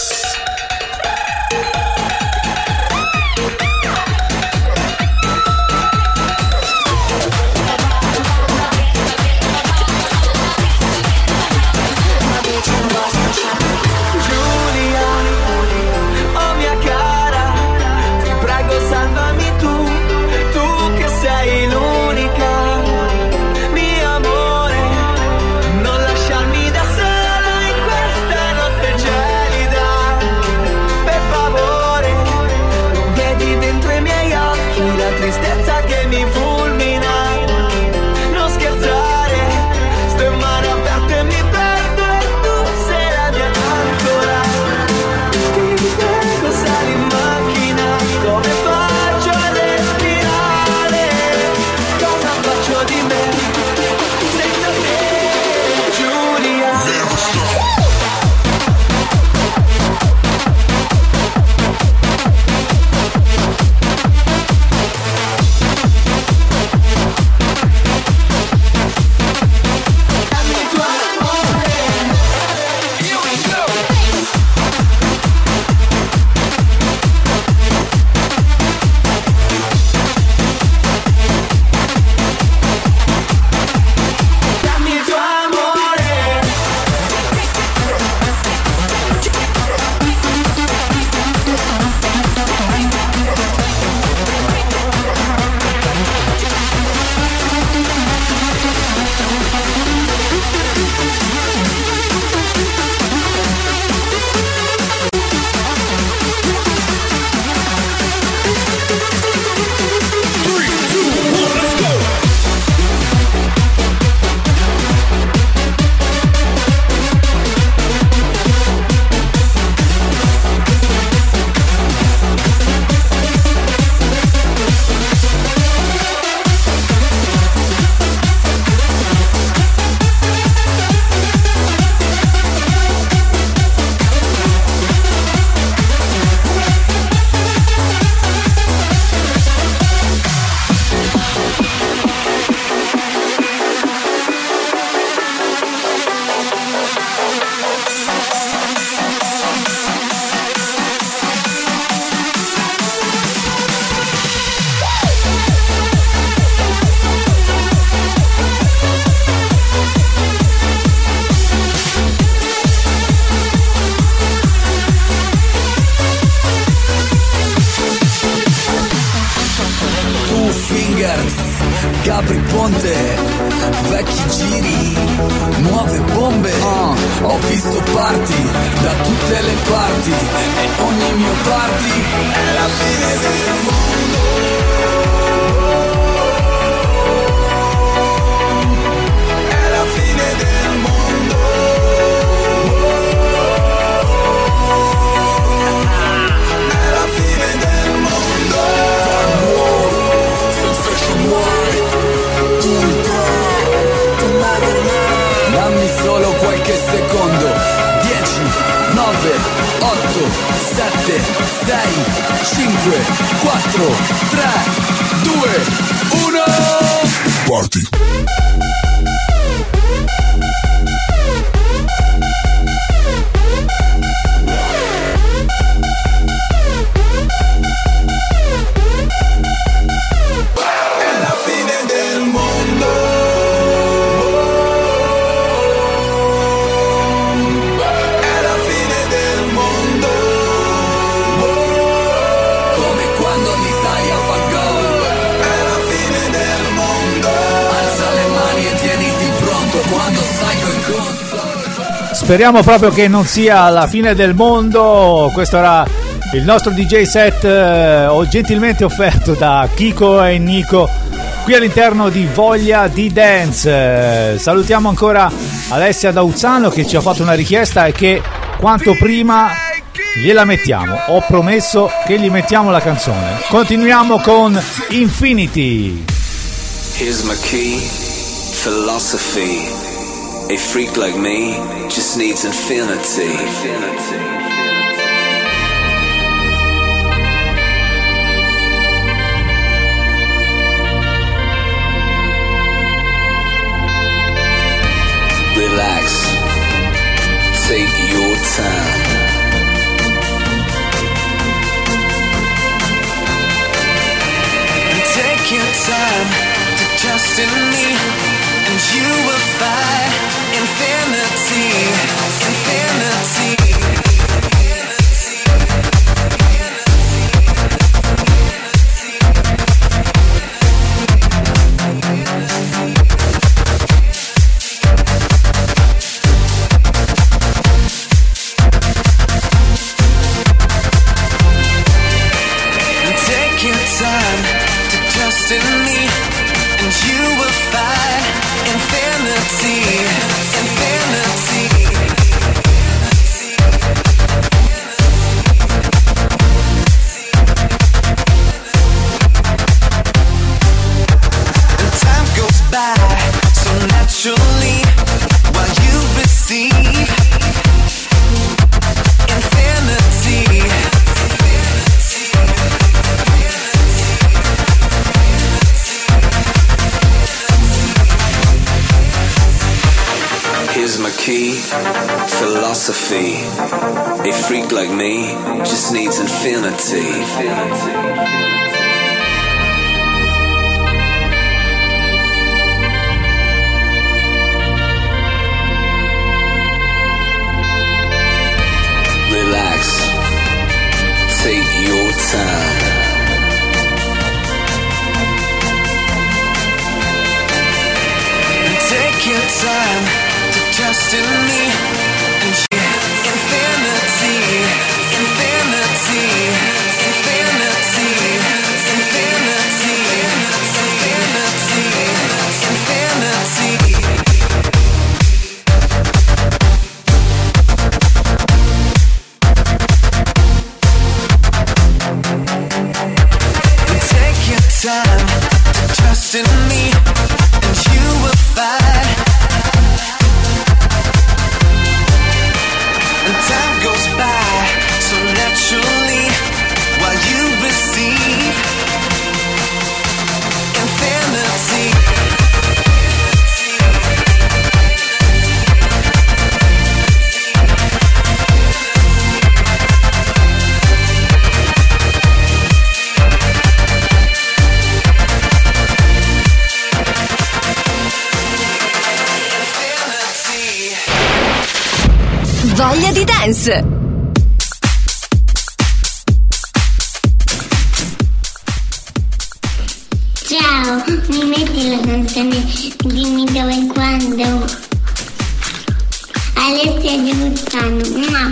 Gabri Ponte, vecchi giri, nuove bombe. uh, Ho visto party da tutte le parti e ogni mio party è la fine del mondo. È la fine del mondo. otto, sette, sei, cinque, quattro, tre, due, uno. Party. Speriamo proprio che non sia la fine del mondo. Questo era il nostro D J set eh, gentilmente offerto da Kiko e Nico qui all'interno di Voglia di Dance. Eh, salutiamo ancora Alessia da Uzzano che ci ha fatto una richiesta e che quanto prima gliela mettiamo. Ho promesso che gli mettiamo la canzone. Continuiamo con Infinity. Here's my key, philosophy. A freak like me just needs infinity. Relax, take your time. Take your time to trust in me, and you will find infinity, infinity. Take your time to trust in me, and you will find infinity, infinity. And time goes by so naturally while you receive infinity. Here's my key, philosophy. A freak like me just needs infinity. Relax, take your time. Take your time to trust in me, and you infinity, infinity, infinity, infinity, infinity, infinity. Take your time to trust in me, and you will find. And time goes by so naturally while you receive infinity. Voglia di Dance. Ciao, mi metti la canzone Dimmi dove e quando? Alessia di Buzzano. No.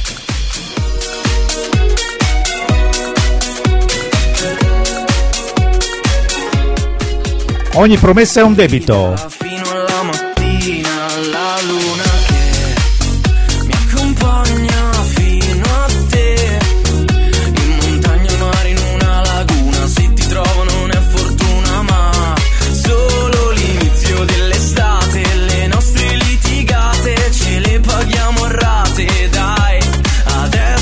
Ogni promessa è un debito. Fino alla mattina la luna che mi accompagna fino a te. In montagna, al mare, in una laguna. Se ti trovo non è fortuna ma solo l'inizio dell'estate. Le nostre litigate ce le paghiamo a rate. Dai, adesso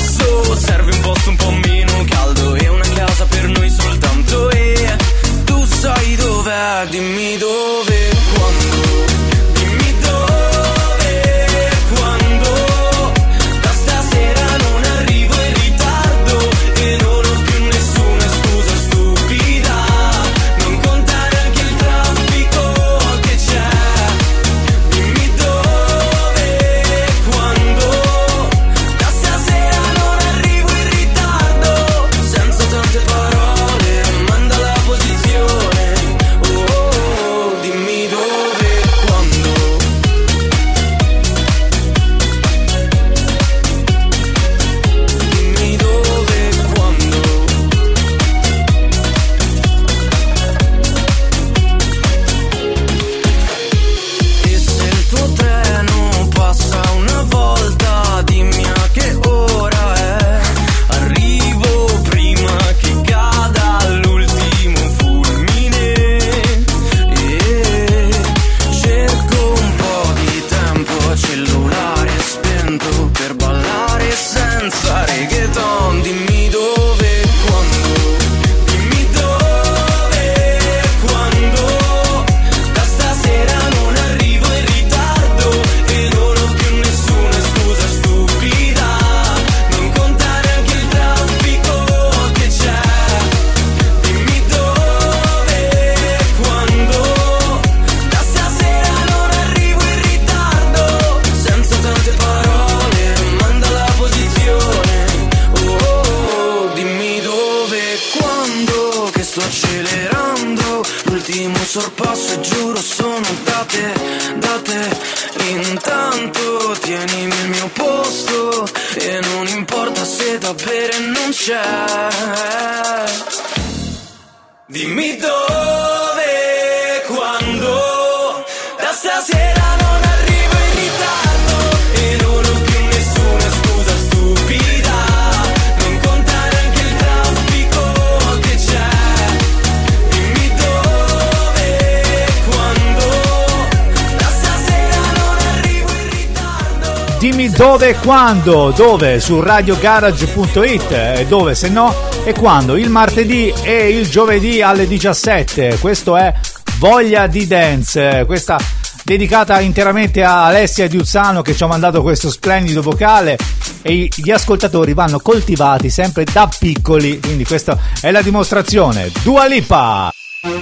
sorpasso e giuro sono da te, da te. Intanto tienimi il mio posto e non importa se da bere non c'è. Dimmi dove, quando, da stasera non arrivo in ritardo e non ho più nessuna scusa stupida. Non conta neanche il traffico che c'è. Dimmi dove, quando, da stasera non arrivo in ritardo. Dimmi dove e quando, dove? Su radio garage punto it, e dove se no e quando? Il martedì e il giovedì alle diciassette. Questo è Voglia di Dance, questa dedicata interamente a Alessia Diuzzano che ci ha mandato questo splendido vocale, e gli ascoltatori vanno coltivati sempre da piccoli, quindi questa è la dimostrazione. Dua Lipa.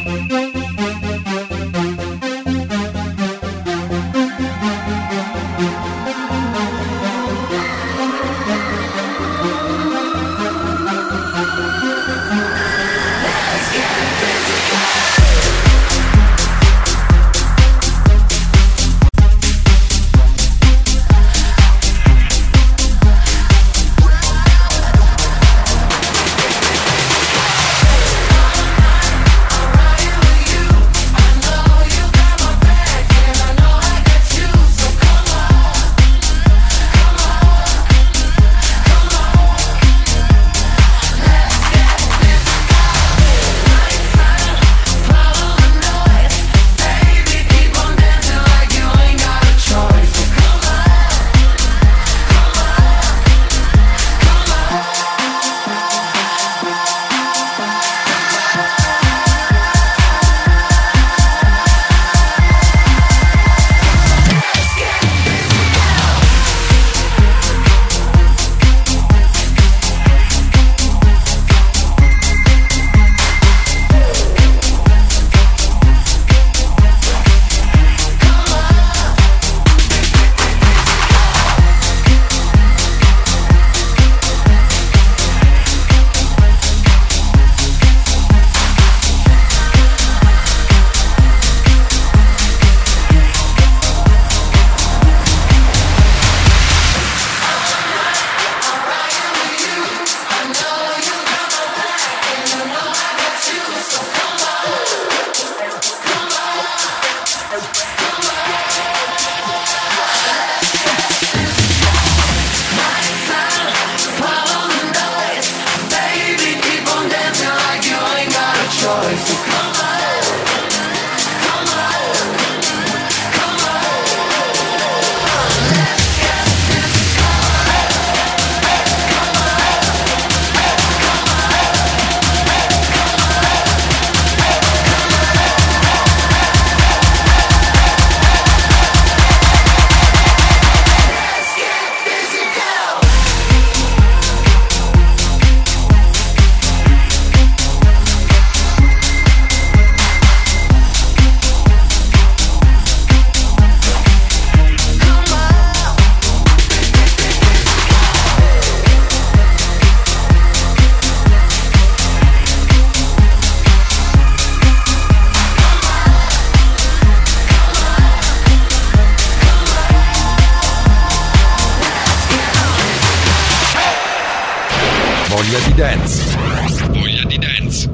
Voglia di dance. Voglia di dance.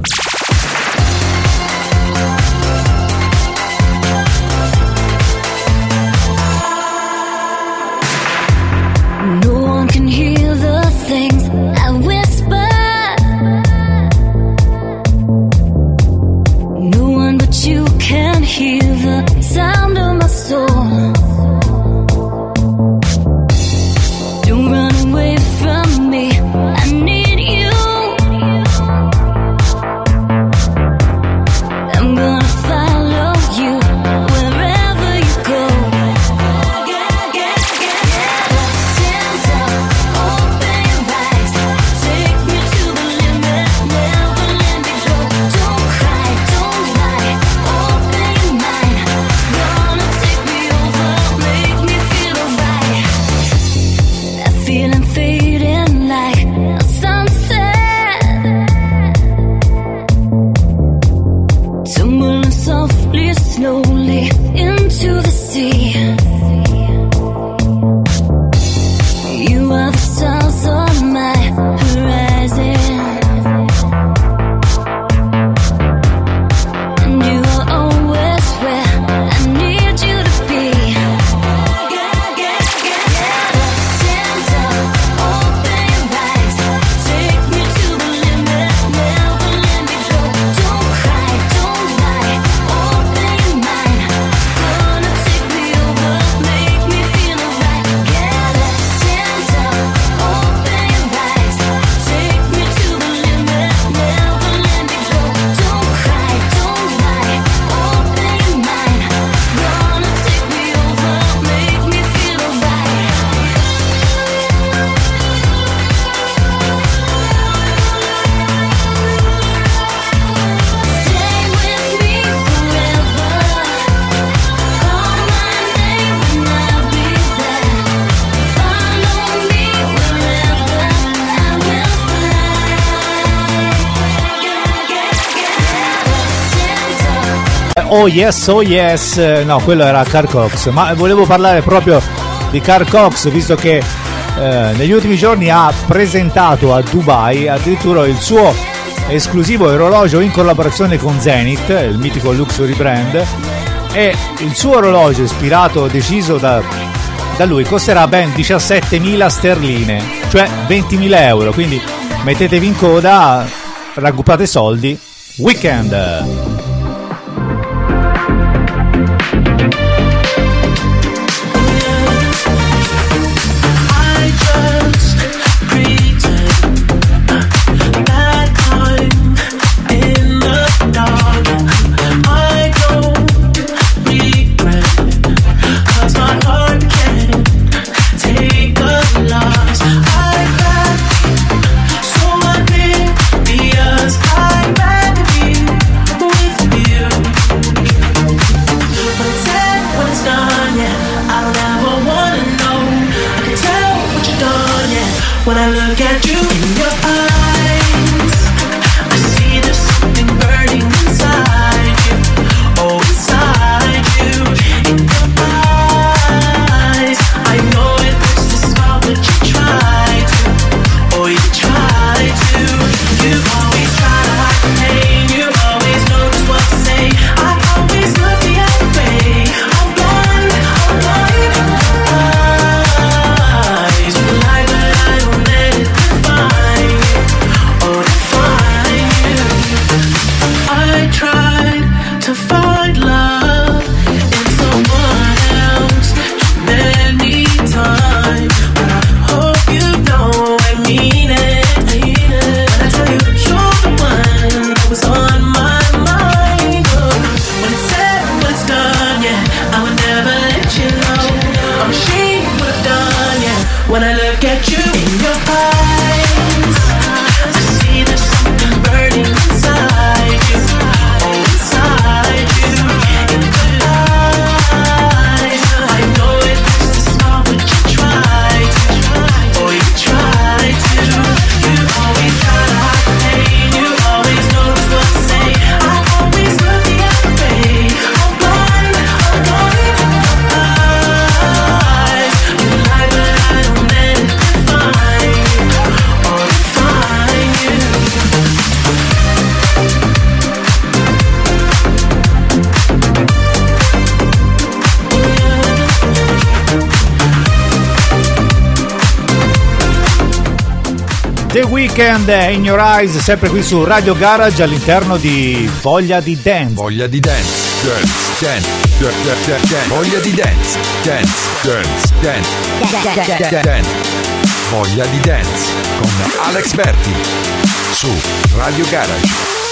No one can hear the things I whisper. No one but you can hear the sound of my soul. Don't run away from me. I need you. are the stars on my horizon. And you are always where I need you to be. Stand up, open your eyes, take me to the limit, never let me go. Don't cry, don't lie, open your mind, gonna take me over, make me feel alright. Get up, stand up, open your eyes, take me to the limit, never let me go. Don't cry, don't lie, open your mind, gonna take me over, make me feel alright. Stay with me forever, call my name and I'll be there. Follow me wherever I will fly. Oh yes, oh yes, no, quello era Carl Cox, ma volevo parlare proprio di Carl Cox, visto che eh, negli ultimi giorni ha presentato a Dubai addirittura il suo esclusivo orologio in collaborazione con Zenith, il mitico luxury brand, e il suo orologio ispirato, deciso da, da lui, costerà ben diciassettemila sterline, cioè ventimila euro, quindi mettetevi in coda, raggruppate soldi, Weekend. I just pretend that I'm in the dark. I don't regret, 'cause my heart can't take a loss. I got so oblivious, I'd rather be with you. When it's said, when it's done, yeah, I don't ever wanna know. I can tell what you've done, yeah. When I look at you in your eyes, I see there's something burning inside you. Oh, inside you. In your eyes, I know it hurts to smile, but you try to. Oh, you try to. You always try to hide the pain. You always know just what to say. I always look the other way. I'm blind, I'm blind. Eyes, you lie, but I don't let it define you. Oh, define you. I tried to find love in someone else many times, but I hope you know I mean it. I mean it. When I tell you you're the one that was on my mind. Oh, when it's said, when it's done, yeah, I would never let you know. I'm ashamed of what I've done, yeah. When I look at you in your eyes, I see there's something burning inside you. Oh, inside you. In your eyes, I know it hurts to smile, but you try to. Oh, you try to. You always try to hide the pain. You always know just what to say. I always look the other way. I'm blind, I'm blind. Eyes, you lie, but I don't let it define you. Or define you. The Weekend, In Your Eyes, sempre qui su Radio Garage all'interno di Voglia di Dance. Voglia di dance, dance, dance, dance, dance, dance. Voglia di dance, dance, dance, dance, dance, dance. Voglia di dance con Alex Berti su Radio Garage.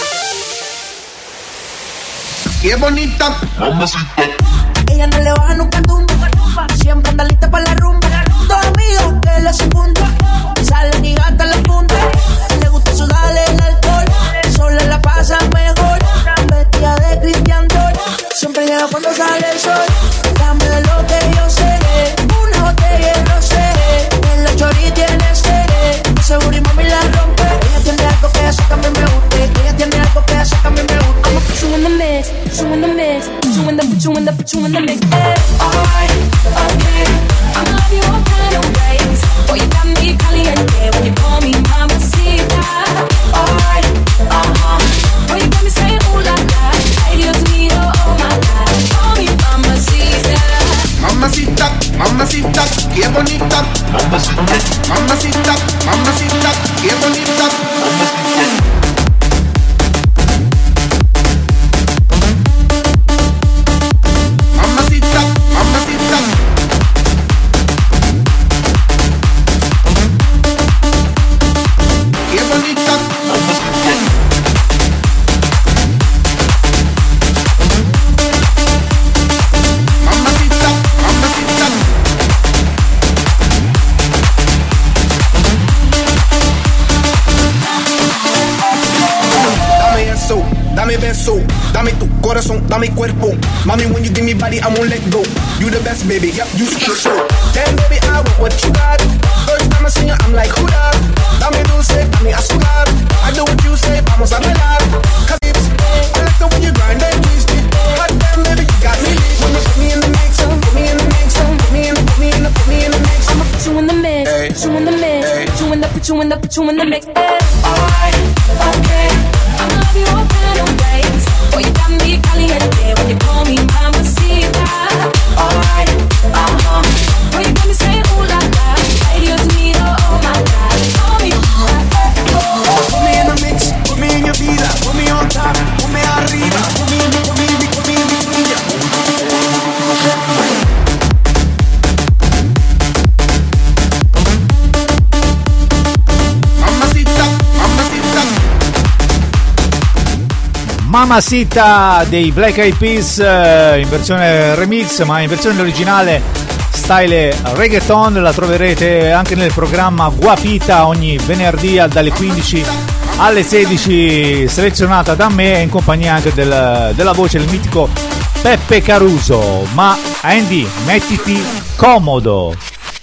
¡Qué bonita! Ella no le baja nunca tumba, siempre anda lista para la rumba. Dos amigos que le secundan, salen y gastan la punta. Le gusta sudarle el alcohol, sola la pasa mejor. Vestida de Christian Dior, siempre llega cuando sale el sol. Dame de lo que yo sé, una botella de rosé. En la chori tiene sed, seguro y mami la rompe. Ella tiene algo que eso también me gusta. Ella tiene algo que eso también me gusta. I'ma put you in the mix, put you in the mix, put you in the, put you in the, put you in the mix. Alright, okay, I love you all kind of ways. Boy, you got me Mamacita, mamacita, qué bonita. Mamacita, mamacita. Qué bonita. Mamacita, mamacita. Dame eso, dame beso, dame tu corazón, dame cuerpo. Mommy, when you give me body, I won't let go. You the best, baby, yep, you special. Damn, baby, I want what you got. First time I see you, I'm like, who that? Dame dulce, dame azúcar. I do what you say, vamos a bailar. Cause it's, I like the way you grind and twist it. Hot damn, baby, you got me. When you put me in the mix, put me in the mix, put me in the, put me in the, put me in the mix. I'ma put you in the mix, Ay. put you in the mix, Ay. put you in the, put you in the, put you in the mix. Alright, okay, I'ma love you all kind of ways. Boy, you got me caliente when you call me mamacita. Alright, uh-huh. Boy, you got me saying ooh la la. Ay, Dios mío, oh my God. Call me, Put me in the mix, put me in your vida, put me on top, put me arriba, put me in the, put me in the, put me in the, put me in the. Mamacita, mamacita. Mamacita dei Black Eyed Peas, eh, in versione remix, ma in versione originale stile reggaeton la troverete anche nel programma Guapita ogni venerdì dalle quindici alle sedici, selezionata da me in compagnia anche del, della voce del mitico Peppe Caruso. Ma Andy, mettiti comodo.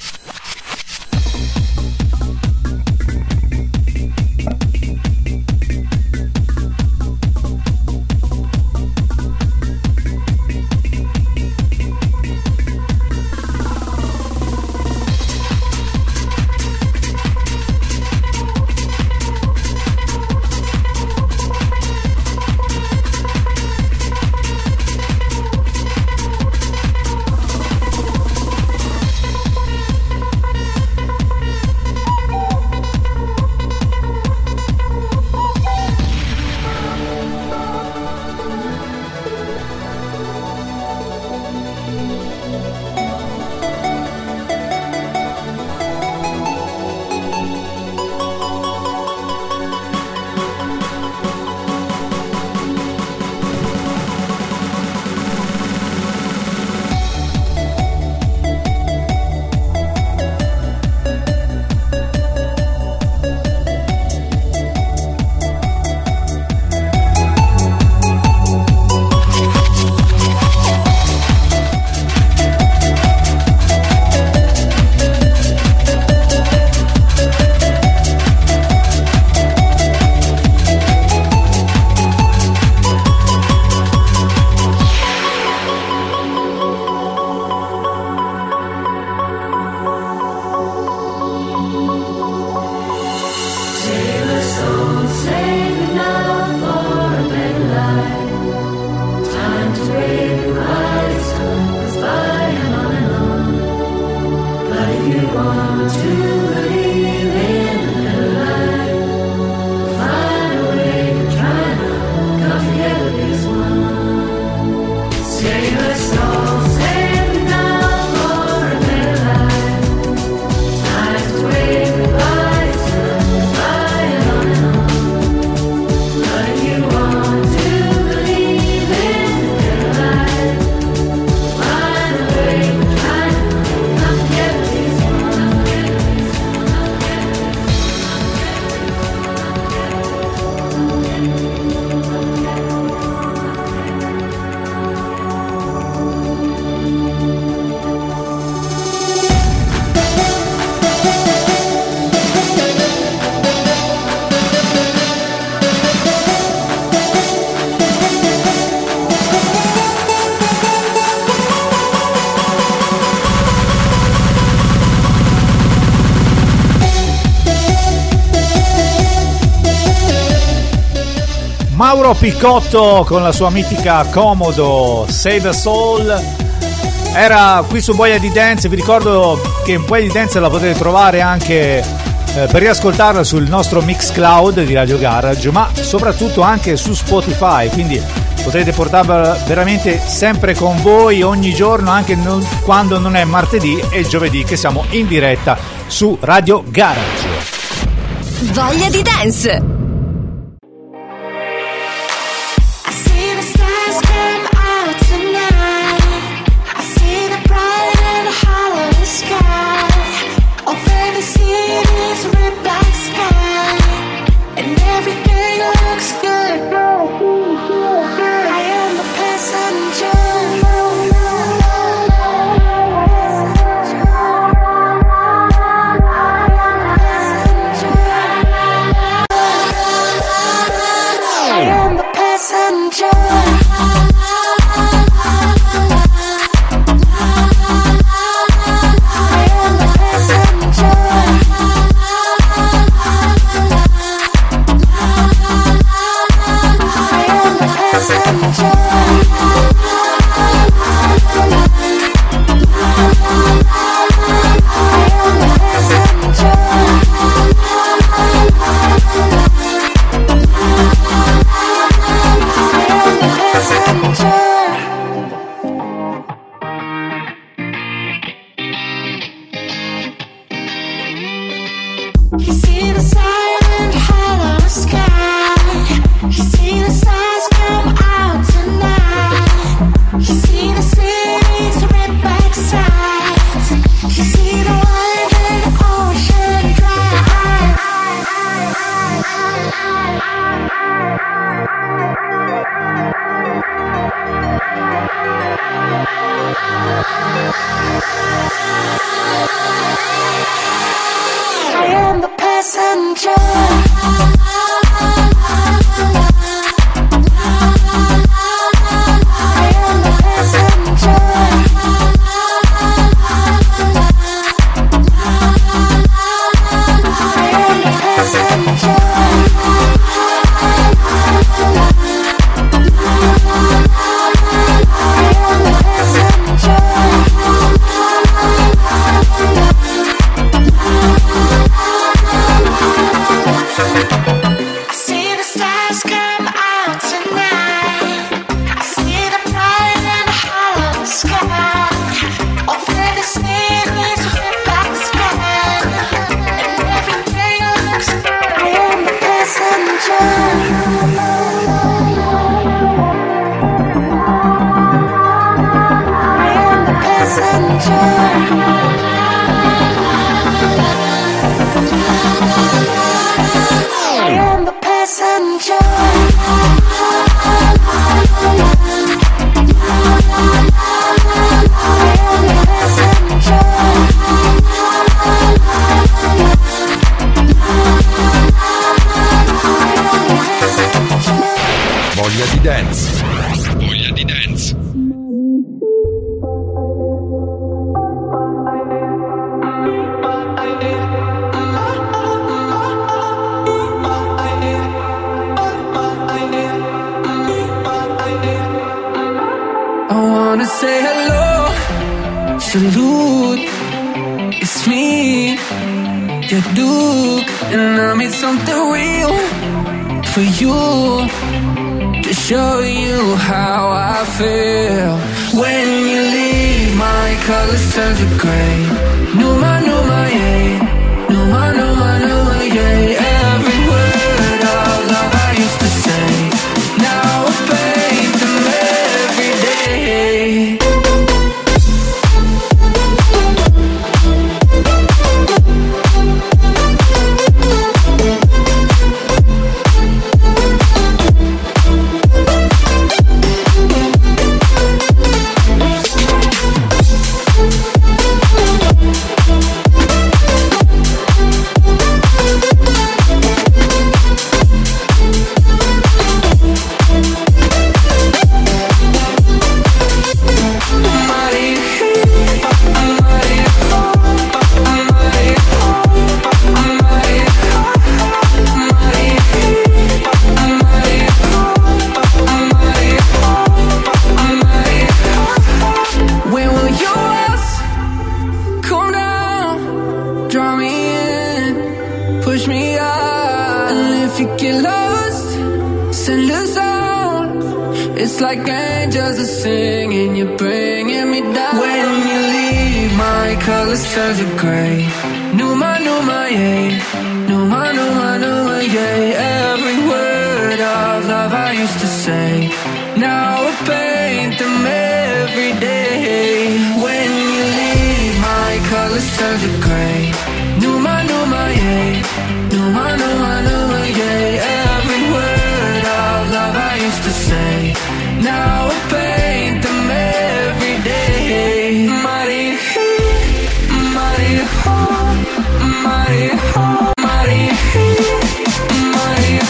Mauro Picotto con la sua mitica Comodo, Save a Soul, era qui su Voglia di Dance. Vi ricordo che in Voglia di Dance la potete trovare anche eh, per riascoltarla sul nostro Mixcloud di Radio Garage, ma soprattutto anche su Spotify, quindi potrete portarla veramente sempre con voi ogni giorno, anche non, quando non è martedì e giovedì, che siamo in diretta su Radio Garage. Voglia di dance. Voglia di dance. Voglia di dance. I wanna say hello, salute, it's me, your Duke, and I made something real for you, to show you how I feel. When you leave, my colors turn to gray. Numa, numa, yeah. Numa, numa, numa, yeah. Every word of love I used to say, now I paint them every day. push me out. And if you get lost, send a song. It's like angels are singing, you're bringing me down. When you leave, my colors turn to gray. Numa, Numa, yeah. Numa, Numa, Numa, yeah. Every word of love I used to say, now I paint them every day. When you leave, my colors turn to gray. Numa, Numa, yeah. Numa, Numa, Numa, yeah. Every word of love I used to say, now I paint them every day. Mighty, mighty, mighty, mighty, mighty,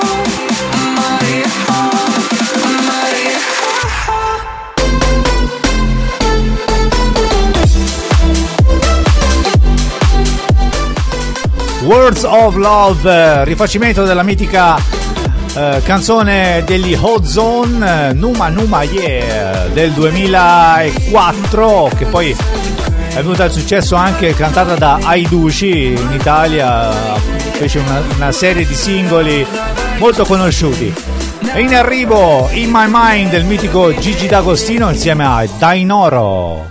Words of Love, rifacimento della mitica eh, canzone degli Ozone, eh, Numa Numa Yeah del duemilaquattro, che poi è venuta al successo anche cantata da Aidushi in Italia, fece una, una serie di singoli molto conosciuti. E in arrivo In My Mind del mitico Gigi D'Agostino insieme a Dainoro.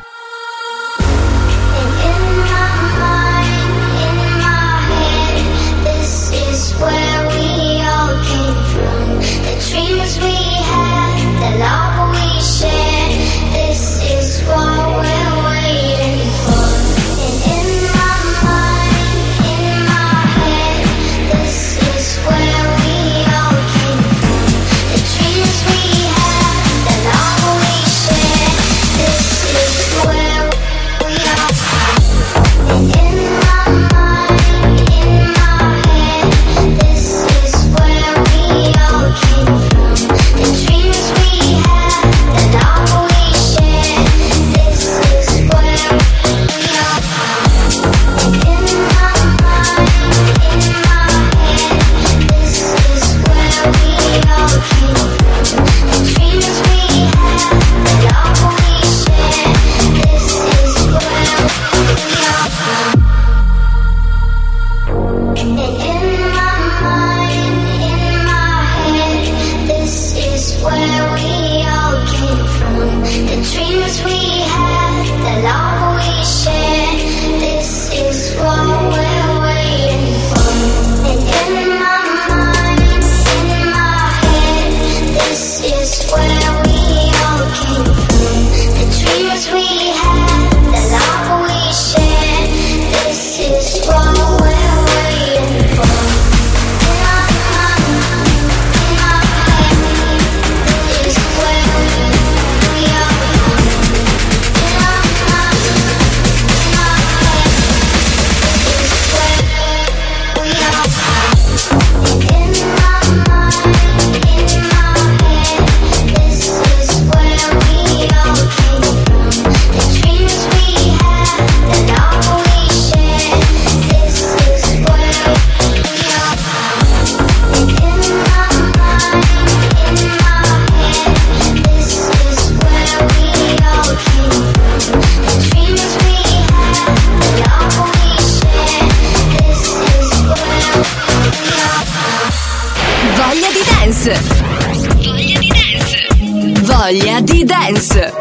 Voglia di dance.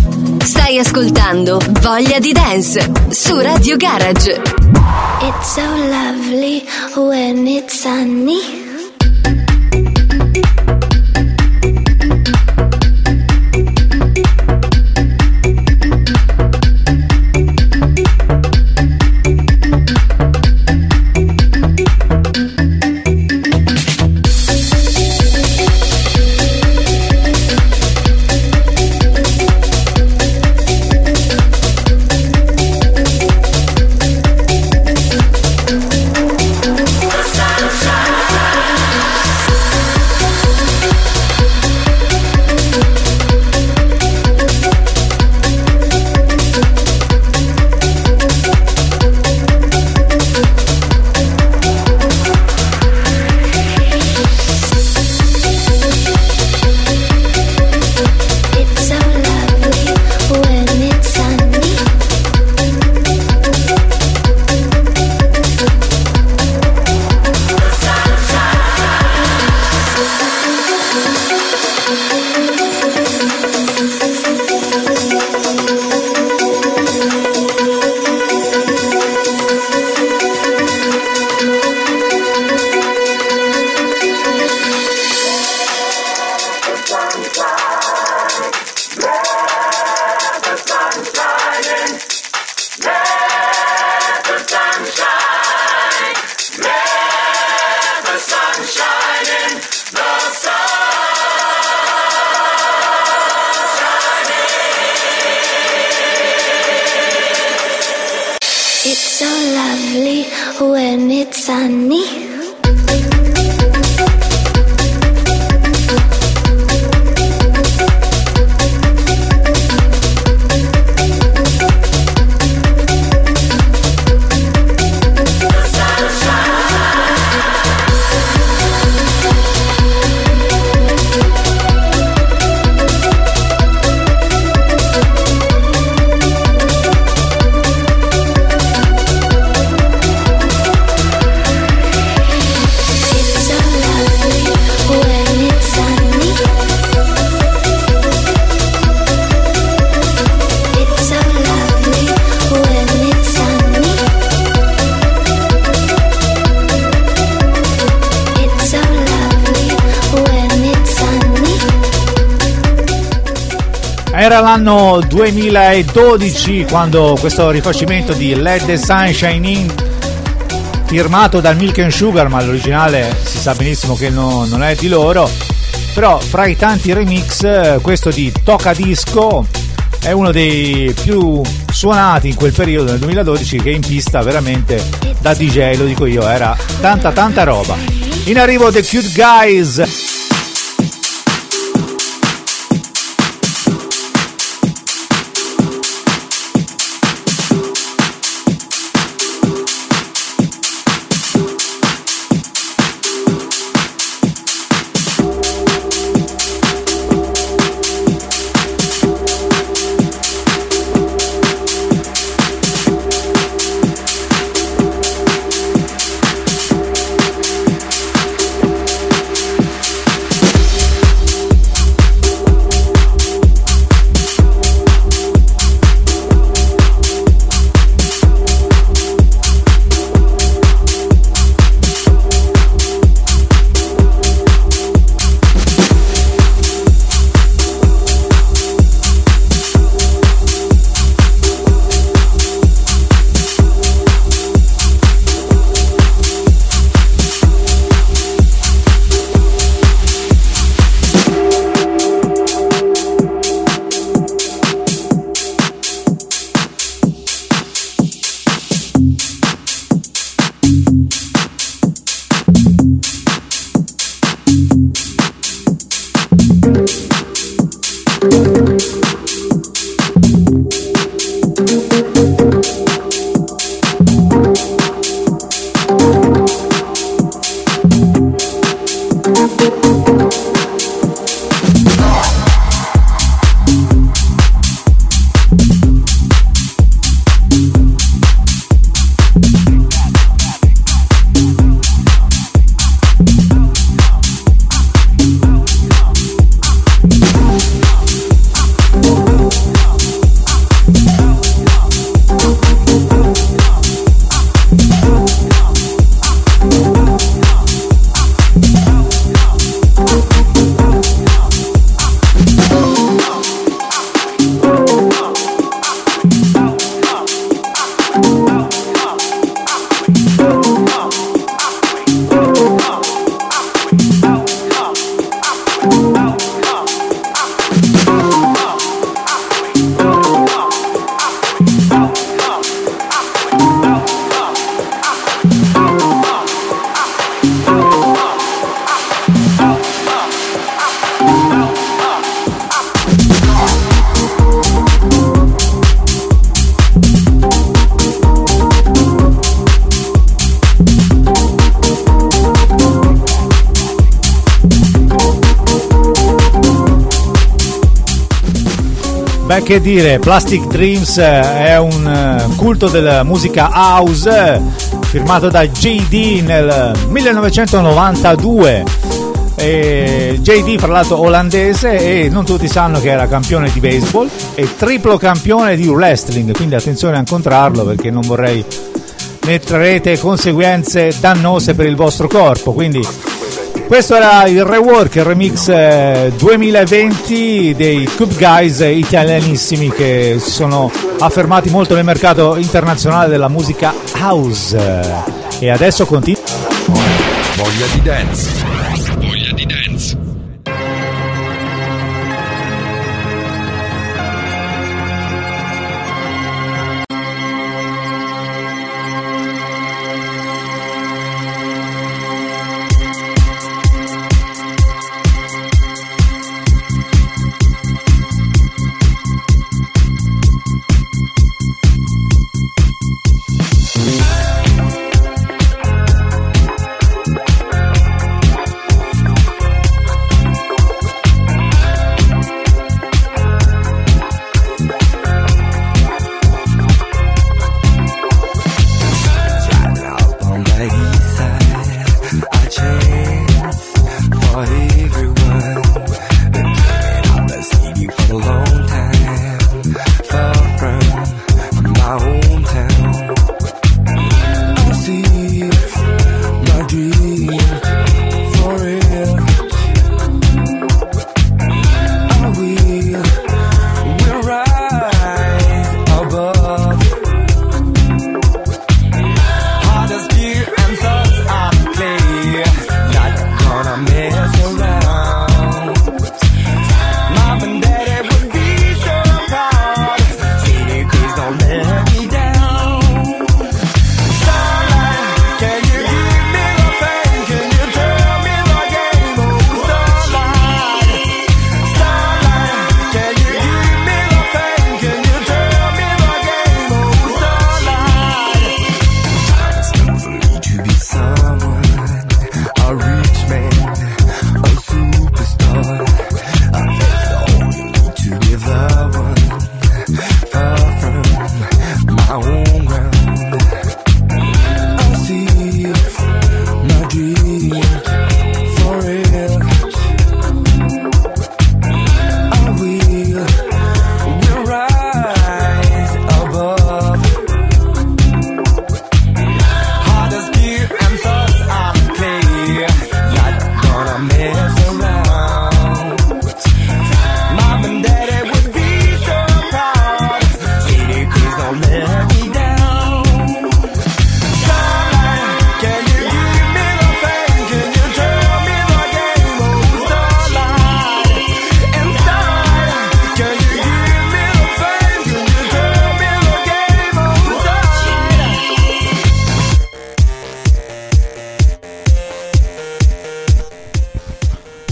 Stai ascoltando Voglia di Dance su Radio Garage. It's so lovely when it's sunny. Sunshine. sunny. Era l'anno duemiladodici quando questo rifacimento di Let the Sunshine In, firmato dal Milk and Sugar, ma l'originale si sa benissimo che no, non è di loro, però fra i tanti remix questo di Toca Disco è uno dei più suonati in quel periodo, nel duemiladodici, che in pista veramente da D J, lo dico io, era tanta tanta roba. In arrivo The Cute Guys. Beh, che dire, Plastic Dreams è un culto della musica house firmato da J D nel millenovecentonovantadue. E J D, fra l'altro olandese, e non tutti sanno che era campione di baseball e triplo campione di wrestling, quindi attenzione a incontrarlo perché non vorrei ne trarrete conseguenze dannose per il vostro corpo. Quindi questo era il rework, il remix eh, duemilaventi dei Cube Guys italianissimi che si sono affermati molto nel mercato internazionale della musica house. E adesso continua. Voglia di dance. Voglia di dance.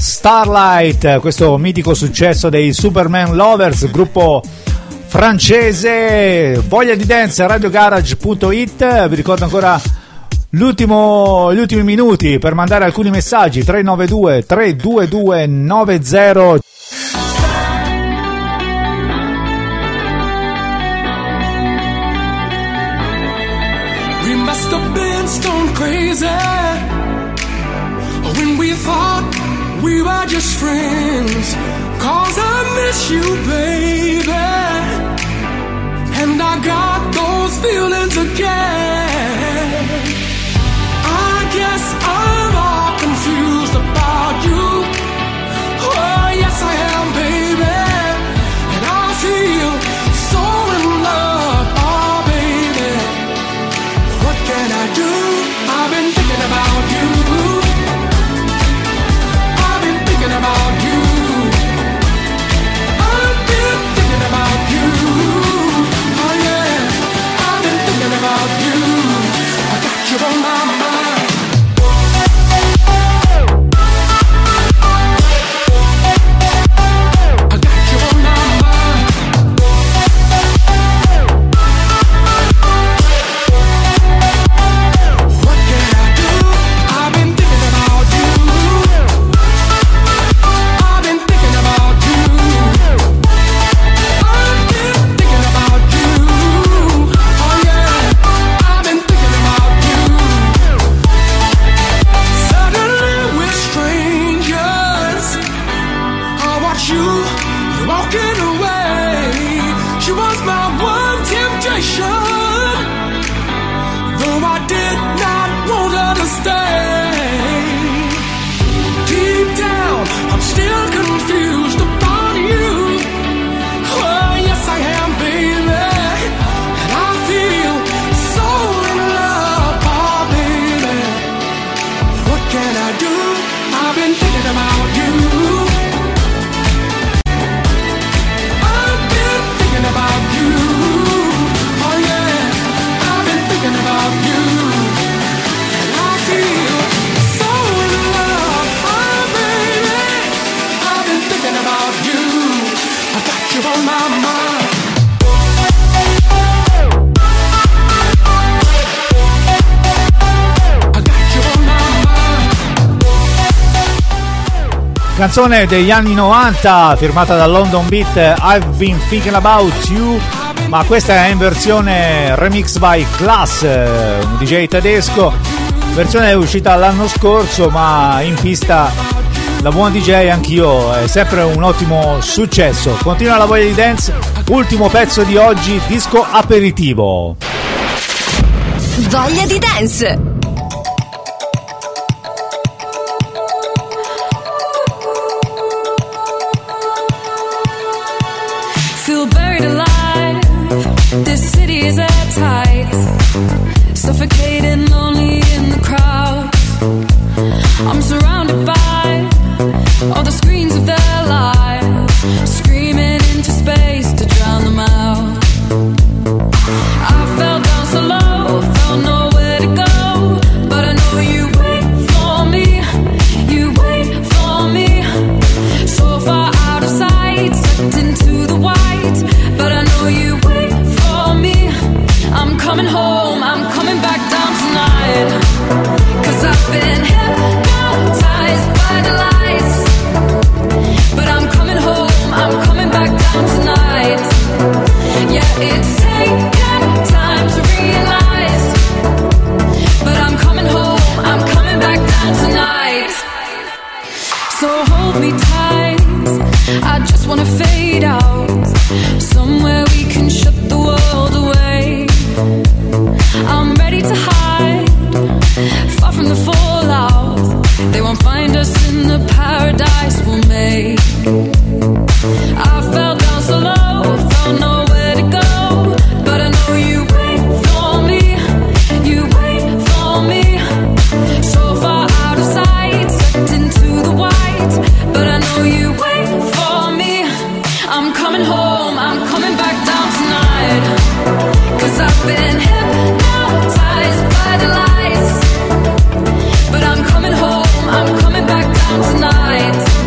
Starlight, questo mitico successo dei Superman Lovers, gruppo francese. Voglia di dance, radiogarage punto it. Vi ricordo ancora l'ultimo, gli ultimi minuti per mandare alcuni messaggi: tre nove due tre due due nove zero. We must have been stone crazy when we thought we were just friends. 'Cause I miss you, baby, and I got those feelings again. I guess I'm all confused about you. Oh yes I am, baby, and I feel so in love. Oh baby, what can I do? I've been thinking about you. I've been thinking about you. I've been thinking about you. Oh yeah, I've been thinking about you. I got you on my mind. I got you on my mind. What can I do? I've been thinking about you. I've been thinking about you. I've been thinking about you. Oh yeah, I've been thinking about you. Suddenly we're strangers. I watch you, you're walking away. She was my one temptation, though I did not want her to stay. Deep down, I'm still confused about you. Oh yes I am, baby, and I feel so in love. Oh baby, what can I do? I've been thinking about you. I've been thinking about you. Oh yeah, I've been thinking about you. And I feel so in love. Oh baby, I've been thinking about you. I got you on my mind. I got you on my mind. Canzone degli anni novanta firmata da London Beat, I've Been Thinking About You, ma questa è in versione remix by Class, un D J tedesco. Versione è uscita l'anno scorso, ma in pista da buon D J anch'io, è sempre un ottimo successo. Continua la voglia di dance, ultimo pezzo di oggi, disco aperitivo. Voglia di dance. Feel buried alive. This city is at tight. Suffocating, lonely in the crowd. I'm surrounded by all the screens of their lives, screaming into space to drown them out. I fell down so low, felt nowhere to go, but I know you wait for me. You wait for me. So far out of sight, sucked into the white, but I know you wait for me. I'm coming home, I'm coming back down tonight, 'cause I've been hypnotized by the lights, but I'm coming home, I'm coming back down tonight. Yeah, it's taken time to realize, but I'm coming home, I'm coming back down tonight. So hold me tight, I just wanna fade out, somewhere we can shut the world away. I'm ready to hide, far from the fallout. They won't find us in the paradise we'll make. I fell down so low, found nowhere to go, but I know you wait for me. You wait for me. So far out of sight, sucked into the white, but I know you wait for me. I'm coming home, I'm coming back down tonight, 'cause I've been hypnotized by the lights, but I'm coming home, I'm coming back down tonight.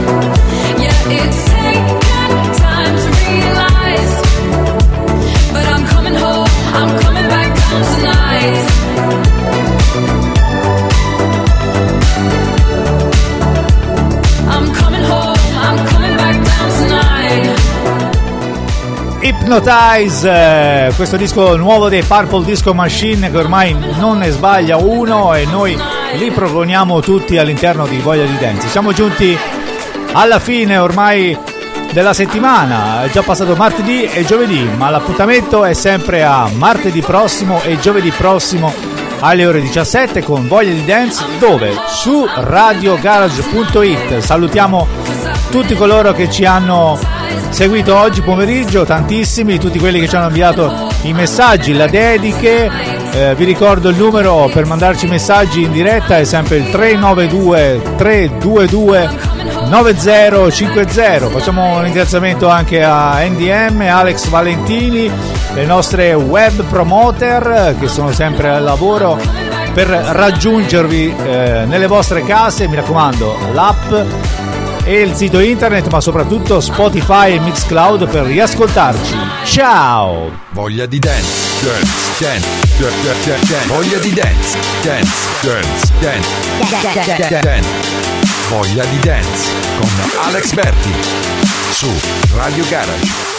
Hypnotize, eh, questo disco nuovo dei Purple Disco Machine, che ormai non ne sbaglia uno e noi li proponiamo tutti all'interno di Voglia di Dance. Siamo giunti alla fine ormai della settimana, è già passato martedì e giovedì, ma l'appuntamento è sempre a martedì prossimo e giovedì prossimo alle ore diciassette con Voglia di Dance, dove? Su radio garage punto it. Salutiamo tutti coloro che ci hanno seguito oggi pomeriggio, tantissimi, tutti quelli che ci hanno inviato i messaggi, le dediche. Eh, vi ricordo il numero per mandarci messaggi in diretta, è sempre il tre nove due tre due due nove zero cinque zero. Facciamo un ringraziamento anche a N D M, Alex Valentini, le nostre web promoter che sono sempre al lavoro per raggiungervi eh, nelle vostre case. Mi raccomando, l'app e il sito internet, ma soprattutto Spotify e Mixcloud per riascoltarci. Ciao! Voglia di dance, dance, dance, dance, dance, dance. Voglia di dance, dance, dance, dance, dance, dance. Voglia di dance con Alex Berti su Radio Garage.